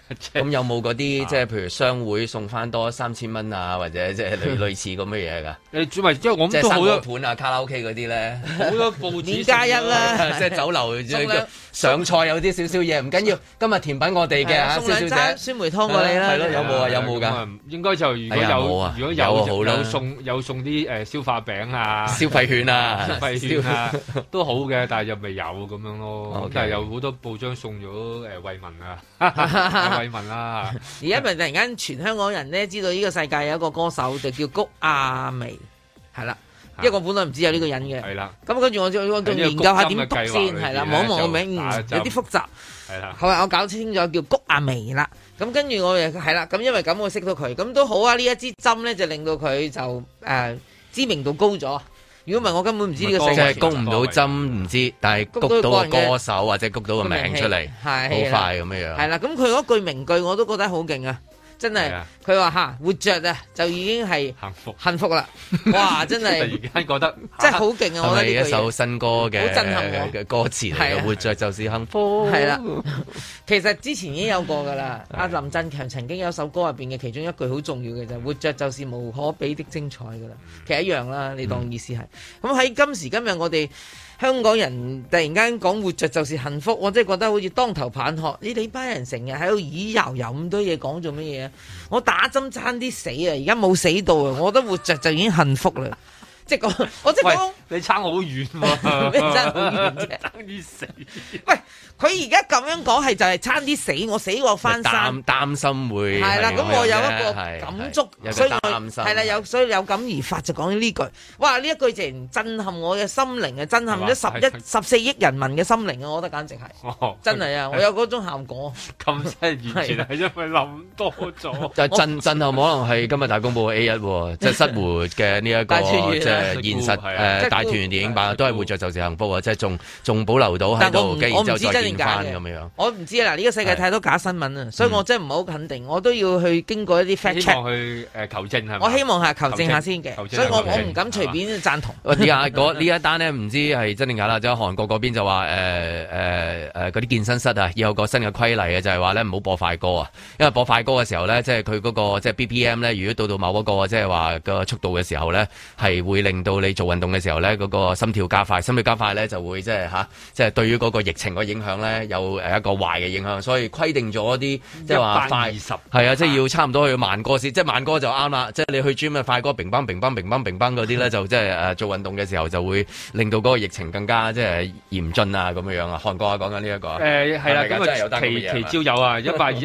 咁有冇嗰啲即係譬如商會送翻多3000蚊啊，或者即係類似咁嘅嘢㗎？ 你主咪即係我即係都好多盤啊、卡拉 OK 嗰啲咧， 好多報紙 +1啦， 即係酒樓上菜有啲少少嘢，唔緊要。今日甜品我哋嘅蕭小姐酸梅湯過你啦。 係咯，有冇啊？有冇㗎？ 應該就如果有送啲消化餅啊、 消費券啊、 都好嘅，但係又未有咁樣咯。但係有好多報章送咗慰問啊，慰問啦。 而家咪突然間全香港人咧知道呢個世界有一個歌手就叫谷亞薇，係啦。因為我本來唔知有呢個人嘅，係啦。咁跟住我仲研究下點讀先，係啦，望一望個名，有啲複雜。係啦，後來我搞清楚叫谷亞薇啦。咁跟住我係啦，咁因為咁我識到佢，咁都好啊。呢一支針咧就令到佢就知名度高咗。如果唔係，我根本唔知呢個世界。即係谷唔到針唔知，但係谷到個歌手或者谷到個名出嚟，好快咁樣樣。係啦，咁佢嗰句名句我都覺得好勁啊！真係，佢話活着啊，就已經係幸福啦！哇，真係突然間覺得真係好勁啊！我覺得係一首新歌嘅歌詞嚟嘅，活着就是幸福。係啦， 其實之前已經有過噶啦。阿林振強曾經有首歌入邊嘅其中一句好重要嘅就係活着就是無可比的精彩噶啦。其實一樣啦，你當意思係。咁喺今時今日我哋香港人突然間講活着就是幸福，我真係覺得好似當頭棒喝。你班人成日喺度咿搖搖咁多嘢講做乜嘢啊？我打針差啲死啊！而家冇死到啊！我覺得活着就已經幸福啦。即係講，我即係講， 你差好遠喎！ 你差好遠啫， 差啲死。 喂，佢而家咁樣講係就係差啲死，我死過翻生， 擔心會係啦。咁我有一個感觸，所以係啦，所以有感而發就講呢句。哇！呢一句直震撼我嘅心靈啊，震撼咗14億人民嘅心靈啊！我覺得簡直係，真係啊！我有嗰種效果。 咁真係完全係因為諗多咗。 就震撼可能係今日大公報 A1，即係失活嘅呢一個現實大團圓電影版都係活着就是幸福啊！即係仲保留到喺度，跟住之後再見翻咁樣。我唔知啊！嗱，呢個世界太多假新聞啊，所以我真係唔係好肯定，我都要去經過一啲 fact check。希望去求證係咪？ 我希望係求證下先嘅，所以我唔敢隨便贊同。 呢一單呢，唔知係真定假啦，即係韓國嗰邊就話嗰啲健身室啊，有個新嘅規例啊，就係話咧唔好播快歌啊，因為播快歌嘅時候咧，即係佢嗰個即係 BPM 咧，如果到某一個即係話個速度嘅時候咧，係會令到你做運動嘅時候咧，嗰個心跳加快，心跳加快咧就會即係對於嗰個疫情個影響咧有一個壞嘅影響，所以規定咗啲即係話快20係啊，即係要差唔多去慢歌先，即係慢歌就啱啦，即係你去 gym 嘅快歌，乒乓乒乓乒乓乒乓嗰啲咧就即係做運動嘅時候就會令到嗰個疫情更加即係嚴峻啊咁樣啊。韓國啊講緊呢一個係啦，咁啊其朝有啊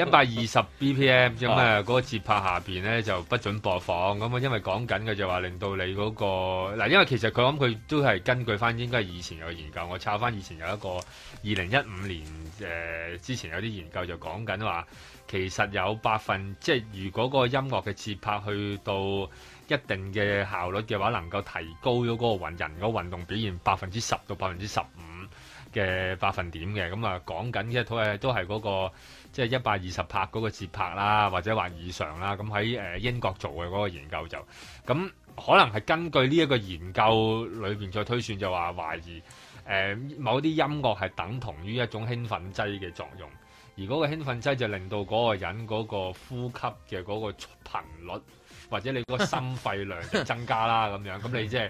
120 BPM 咁啊嗰個節拍下邊咧就不准播放咁啊，因為講緊嘅就話令到你嗰個嗱，因為其實佢都係根據翻應該係以前有研究，我抄翻以前有一個2015年之前有啲研究就講緊話，其實有即係如果個音樂嘅節拍去到一定嘅效率嘅話，能夠提高咗嗰個人個運動表現10%到15%嘅百分點嘅，咁啊講緊嘅都係嗰個即係120拍嗰個節拍啦，或者或以上啦。咁喺英國做嘅嗰個研究就咁。可能係根據呢一個研究裏邊再推算，就話懷疑某啲音樂係等同於一種興奮劑嘅作用，而嗰個興奮劑就令到嗰個人嗰個呼吸嘅嗰個頻率或者你嗰個心肺量就增加啦咁樣，咁你即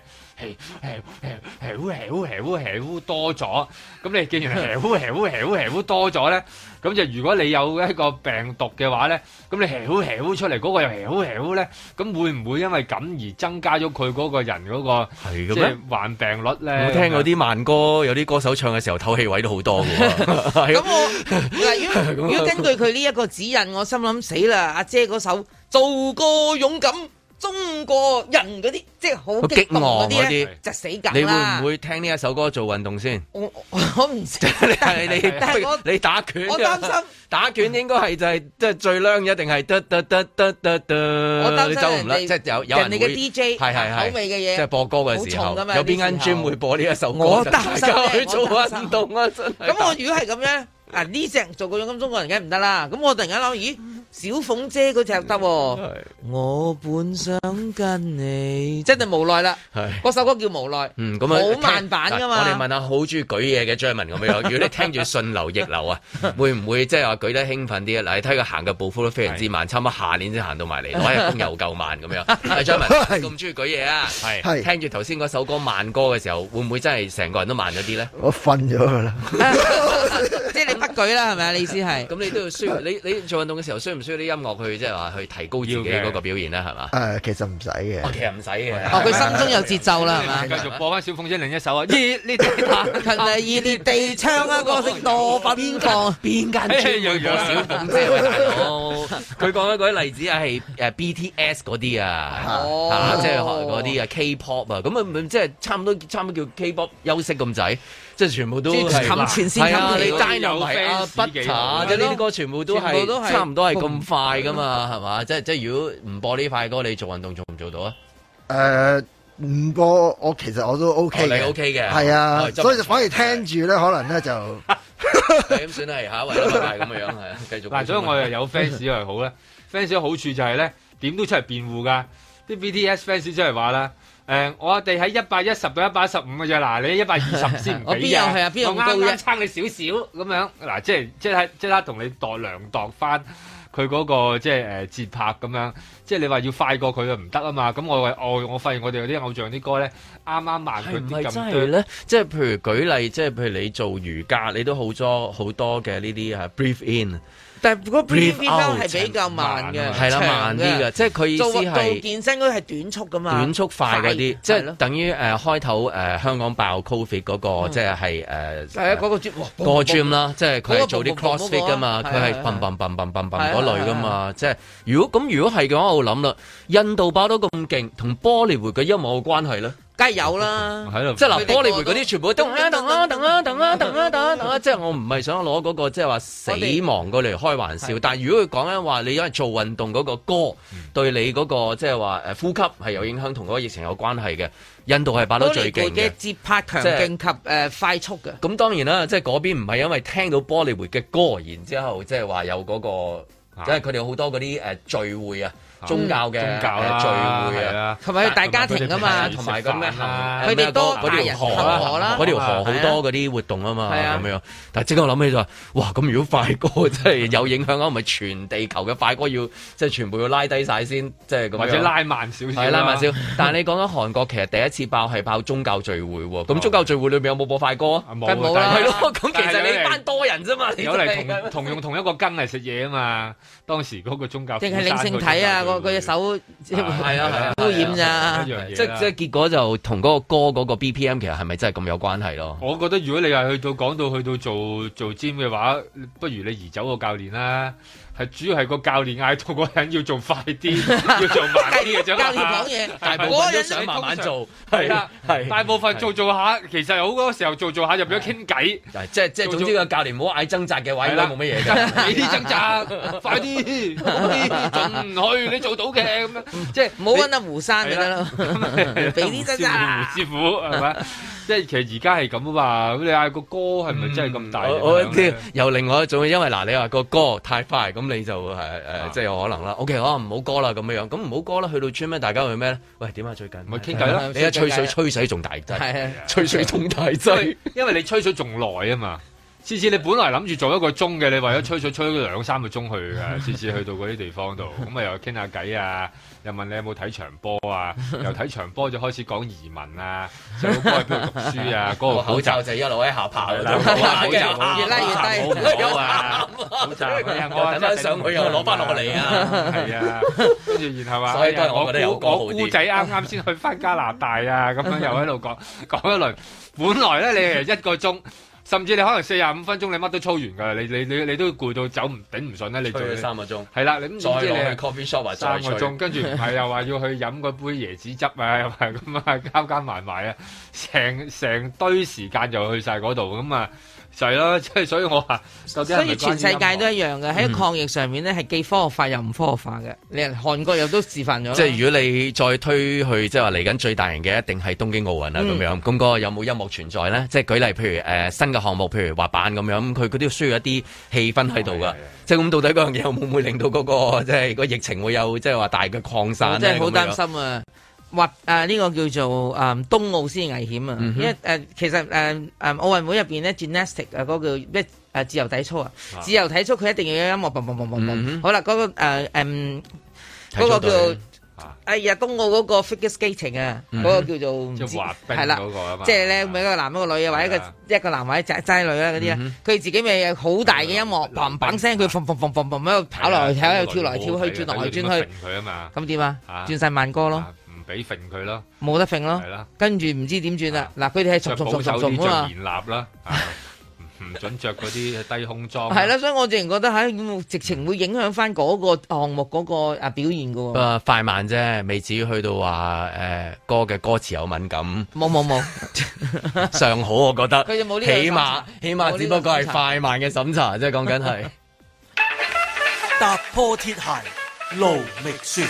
係呼多咗，咁你既然呼多咗咧，咁就如果你有一個病毒嘅話咧，咁你呼出嚟嗰個又呼咧，咁會唔會因為咁而增加咗佢嗰個人嗰個即係患病率咧？ 我聽嗰啲慢歌，有啲歌手唱嘅時候透氣位都好多嘅喎。 咁我如果根據佢呢一個指引，我心諗死啦！阿姐嗰首做個勇敢中國人嗰啲，即係好激昂嗰啲咧，就死梗啦！ 你會唔會聽呢一首歌做運動先？ 我唔知， 你打拳， 我擔心打拳應該係就係即係最靚一定係我擔心走唔甩，即係有人哋嘅 DJ 係口味嘅嘢， 即係播歌嘅時候，有邊間 gym 會播呢一首歌？ 我擔心去做運動啊！真係。 咁我如果係咁樣，呢隻做個勇敢中國人梗係唔得啦。咁我突然間諗，咦？ 小鳳姐嗰隻得，我本想跟你，真係無奈啦。嗰首歌叫無奈， 咁好慢版噶嘛。 我哋問下好中意舉嘢嘅張文咁樣，如果你聽住順流逆流啊，會唔會即係話舉得興奮啲啊？嗱，你睇佢行嘅步幅都非常之慢，差唔多下年先行到埋嚟，攞日工又夠慢咁樣。係張文咁中意舉嘢啊？係聽住頭先嗰首歌慢歌嘅時候，會唔會真係成個人都慢咗啲咧？ 我瞓咗㗎啦。 即係你不舉啦，係咪啊？你意思係？ 咁你都要需要你做運動嘅時候，需唔需要啲音樂去即係話去提高自己嗰個表現咧？係嘛？ 其實唔使嘅。 其實唔使嘅。 佢心中有節奏啦，係嘛？ 繼續播翻小鳳姐另一首啊！熱烈地彈， 熱烈地唱啊！歌聲多奔放， 邊間專播小鳳姐啊？大佬，佢講緊嗰啲例子係BTS 嗰啲啊，即係嗰啲啊 K-pop 啊，咁啊即係差唔多叫 K-pop 休息咁滯。即係全部都係係啊！你 Dynamite 啊 Butter 即係呢啲歌全部都係差唔多係咁快噶嘛，係嘛？即係如果唔播呢塊歌，你做運動做唔做到啊？ 唔播我其實我都 OK 嘅， 你 OK 嘅， 係啊，所以就反而聽住咧，可能咧就咁算係下一位啦，係咁樣係啊，繼續。 嗱，所以我又有 fans 又好咧，fans 嘅好處就係咧點都出嚟辯護㗎，啲 BTS fans 出嚟話啦。我哋喺110到115嘅啫，嗱你120先唔俾啊！我啱啱撐你少少咁樣，嗱即刻同你量度翻佢嗰個即係節拍咁樣，即係你話要快過佢就唔得啊嘛！咁我發現我哋有啲偶像啲歌咧，啱啱慢佢啲咁多咧，即係譬如舉例，即係譬如你做瑜伽，你都好多嘅呢啲breathe in。 但係嗰 breathe out 係比較慢嘅， 係啦，慢啲嘅，即係佢意思係做健身嗰啲係短速噶嘛， 短速快嗰啲，即係等於開頭香港爆 Covid 嗰個，即係係嗰個 gym， 個 gym 啦，即係佢係做啲 crossfit 噶嘛，佢係砰嗰類噶嘛，即係如果係嘅話，我諗啦，印度爆到咁勁，同波利活嘅音樂有冇關係咧？ 梗係有啦， 即係嗱，玻璃匯嗰啲全部都等，即係我唔係想攞嗰個即係話死亡過嚟開玩笑，但係如果佢講緊話，你因為做運動嗰個歌對你嗰個即係話呼吸係有影響，同嗰個疫情有關係嘅，印度係爆得最勁嘅節拍強勁及快速嘅。 咁當然啦，即係嗰邊唔係因為聽到玻璃匯嘅歌，然之後即係話有嗰個，即係佢哋好多嗰啲聚會啊。宗教嘅聚會啊， 同埋大家庭啊嘛， 同埋個咩佢哋多大人河啦， 嗰條河好多嗰啲活動啊嘛，咁樣。但係即刻我諗起就話，哇！咁如果快歌真係有影響啊，唔係全地球嘅快歌要即係全部要拉低晒先，即係咁樣。或者拉慢少少。 係拉慢少。但係你講緊韓國其實第一次爆係爆宗教聚會喎，咁宗教聚會裏邊有冇播快歌啊？ 冇啦。係咯，咁其實你班多人啫嘛， 有嚟同用同一個羹嚟食嘢啊嘛。當時嗰個宗教。 定係領聖體啊？佢隻手係啊污染咋？ 即係結果就同嗰個歌嗰個 BPM 其實係咪真係咁有關係咯？ 我覺得如果你係講到做 gym 嘅話，不如你移走個教練啦。係主要係個教練嗌到嗰人要做快啲，要做慢啲嘅啫。 教練講嘢， 大部分都想慢慢做。係啊，係大部分做下，其實好多時候做下就變咗傾偈。 即係總之個教練唔好嗌掙扎嘅話，應該冇乜嘢㗎。 你啲掙扎，快啲，盡去，你做到嘅咁樣。即係唔好揾阿胡生就得啦。俾啲掙扎， 胡師傅係咪？即係其實而家係咁啊嘛。咁你嗌個歌係咪真係咁大？ 我有另外一種，因為嗱，你話個歌太快咁。咁你就即係有可能啦。OK，可能唔好歌啦咁樣，咁唔好歌啦。去到村咩？大家去咩咧？喂，點啊？最近咪傾偈咯。 你一吹水吹死仲大劑，吹水仲大劑， 因為你吹水仲耐啊嘛。次次你本來諗住做1個鐘嘅，你為咗吹水吹2-3個鐘去嘅。次次去到嗰啲地方度，咁啊又傾下偈啊，又問你有冇睇場波啊，由睇場波就開始講移民啊，細佬哥喺邊度讀書啊，嗰個口罩就一路喺下爬啦， 越拉越低， 好啊，口罩我等翻上去又攞翻落嚟啊， 係啊，跟住然後話， 所以都係我覺得有歌好啲。 我姑仔啱先去翻加拿大啊，咁樣又喺度講一輪，本來咧你係1個鐘。甚至你可能45分鐘你乜都操完㗎，你都攰到走頂唔順咧，你做 3個鐘。 係啦，你再去 coffee shop 或者 3個鐘，跟住唔係又話要去飲嗰杯椰子汁啊，又係咁啊，加埋啊，成堆時間就去晒嗰度咁啊， 就係咯，即係所以我話，所以全世界都一樣嘅，喺抗疫上面咧係既科學化又唔科學化嘅。你韓國又都示範咗。即係如果你再推去，即係話嚟緊最大型嘅一定係東京奧運啦咁樣。咁個有冇音樂存在咧？即係舉例，譬如新嘅項目，譬如滑板咁樣，佢都需要一啲氣氛喺度噶。即係咁到底嗰樣嘢會唔會令到嗰個即係個疫情會有即係話大嘅擴散咧？ 真係好擔心啊！呢個叫做東奧先危險啊！因為其實奧運會入邊咧 gymnastic 嗰個叫咩自由體操啊，自由體操佢一定要有音樂，好啦，嗰個嗰個叫東奧嗰個 figure skating 啊，嗰個叫做滑冰係啦，即係咧每一個男一個女啊，或者一個男或者齋女啊嗰啲啊，佢自己咪有好大嘅音樂，砰砰聲佢砰喺度跑落去，喺度跳來跳去，轉來轉去，咁點啊？轉晒慢歌咯。 俾揈佢咯， 冇得揈咯，跟住唔知點轉啦。嗱，佢哋係重啊嘛， 嚴立啦，唔準着嗰啲低胸裝。 係啦，所以我直情覺得直情會影響翻嗰個項目嗰個表現噶。 快慢啫，未至於去到話歌嘅歌詞有敏感。 冇， 尚好我覺得。 佢就冇呢個審查， 起碼只不過係快慢嘅審查，即係講緊係踏破鐵鞋路未雪。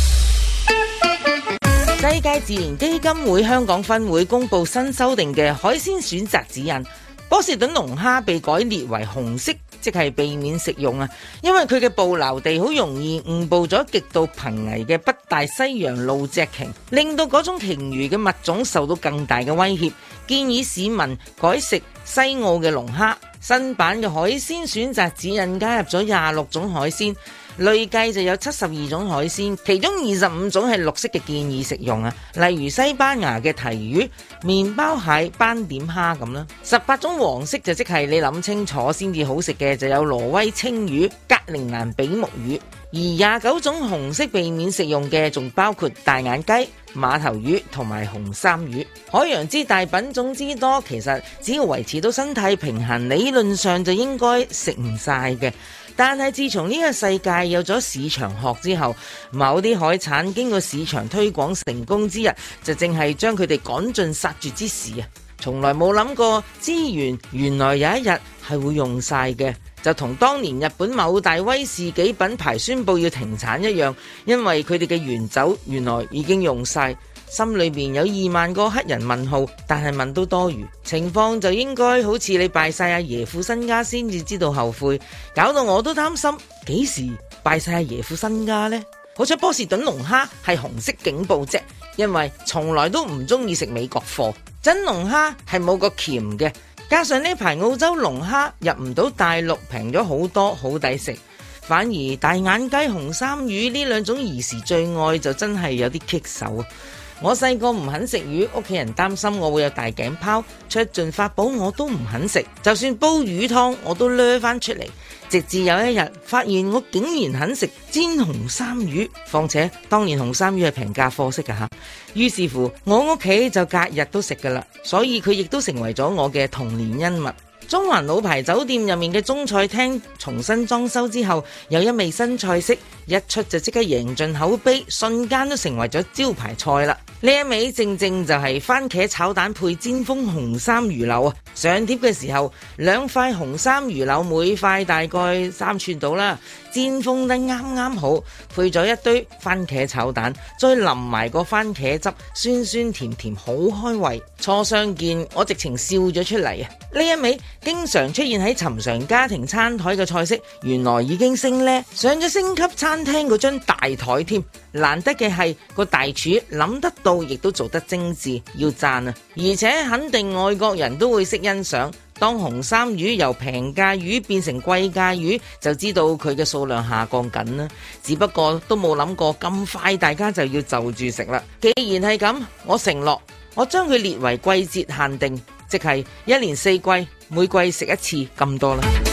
世界自然基金會香港分會公布新修訂嘅海鮮選擇指引，波士頓龍蝦被改列為紅色，即係避免食用啊！因為佢嘅捕撈地好容易誤捕咗極度瀕危嘅北大西洋露脊鯨，令到嗰種鯨魚嘅物種受到更大嘅威脅。建議市民改食西澳嘅龍蝦。新版嘅海鮮選擇指引加入咗26種海鮮。累計就有72種海鮮，其中25種係綠色嘅建議食用啊，例如西班牙嘅提魚、麵包蟹、斑點蝦咁啦。18種黃色就即係你諗清楚先至好食嘅，就有挪威青魚、格陵蘭比目魚。而29種紅色避免食用嘅，仲包括大眼雞、馬頭魚同埋紅衫魚。海洋之大，品種之多，其實只要維持到生態平衡，理論上就應該食唔晒嘅。但係自從呢個世界有咗市場學之後，某啲海產經過市場推廣成功之日，就正係將佢哋趕盡殺絕之時啊！從來冇諗過資源原來有一日係會用晒嘅，就同當年日本某大威士忌品牌宣布要停產一樣，因為佢哋嘅原酒原來已經用晒。心裏面有2萬個黑人問號，但係問都多餘。情況就應該好似你敗晒阿爺副身家先至知道後悔，搞到我都擔心幾時敗晒阿爺副身家呢？好彩波士頓龍蝦係紅色警報啫，因為從來都唔中意食美國貨。真龍蝦係冇個鉗嘅，加上呢排澳洲龍蝦入唔到大陸，平咗好多，好抵食。反而大眼雞、紅衫魚呢兩種兒時最愛就真係有啲棘手啊！我細個唔肯食魚，屋企人擔心我會有大頸泡，出盡法寶我都唔肯食，就算煲魚湯我都掠翻出嚟。直至有一日發現我竟然肯食煎紅衫魚，況且當年紅衫魚係平價貨色㗎吓。於是乎我屋企就隔日都食噶啦，所以佢亦都成為咗我嘅童年恩物。中環老牌酒店入面嘅中菜廳重新裝修之後，有一味新菜式，一出就即刻贏盡口碑，瞬間都成為咗招牌菜啦。呢一味正正就係番茄炒蛋配煎封紅衫魚柳啊！上碟嘅時候，2塊紅衫魚柳每塊大概3寸到啦，煎封得啱啱好，配咗一堆番茄炒蛋，再淋埋個番茄汁，酸酸甜甜好開胃。初相見我直情笑咗出嚟啊！呢一味經常出現喺尋常家庭餐台嘅菜式，原來已經升呢，上咗星級餐廳嗰張大台添。難得嘅係個大廚諗得到，亦都做得精緻，要讚啊！而且肯定外國人都會識欣賞。當紅衫魚由平價魚變成貴價魚，就知道佢嘅數量下降緊啦。只不過都冇諗過咁快大家就要就住食啦。既然係咁，我承諾我將佢列為季節限定，即係1年4季每季食一次咁多啦。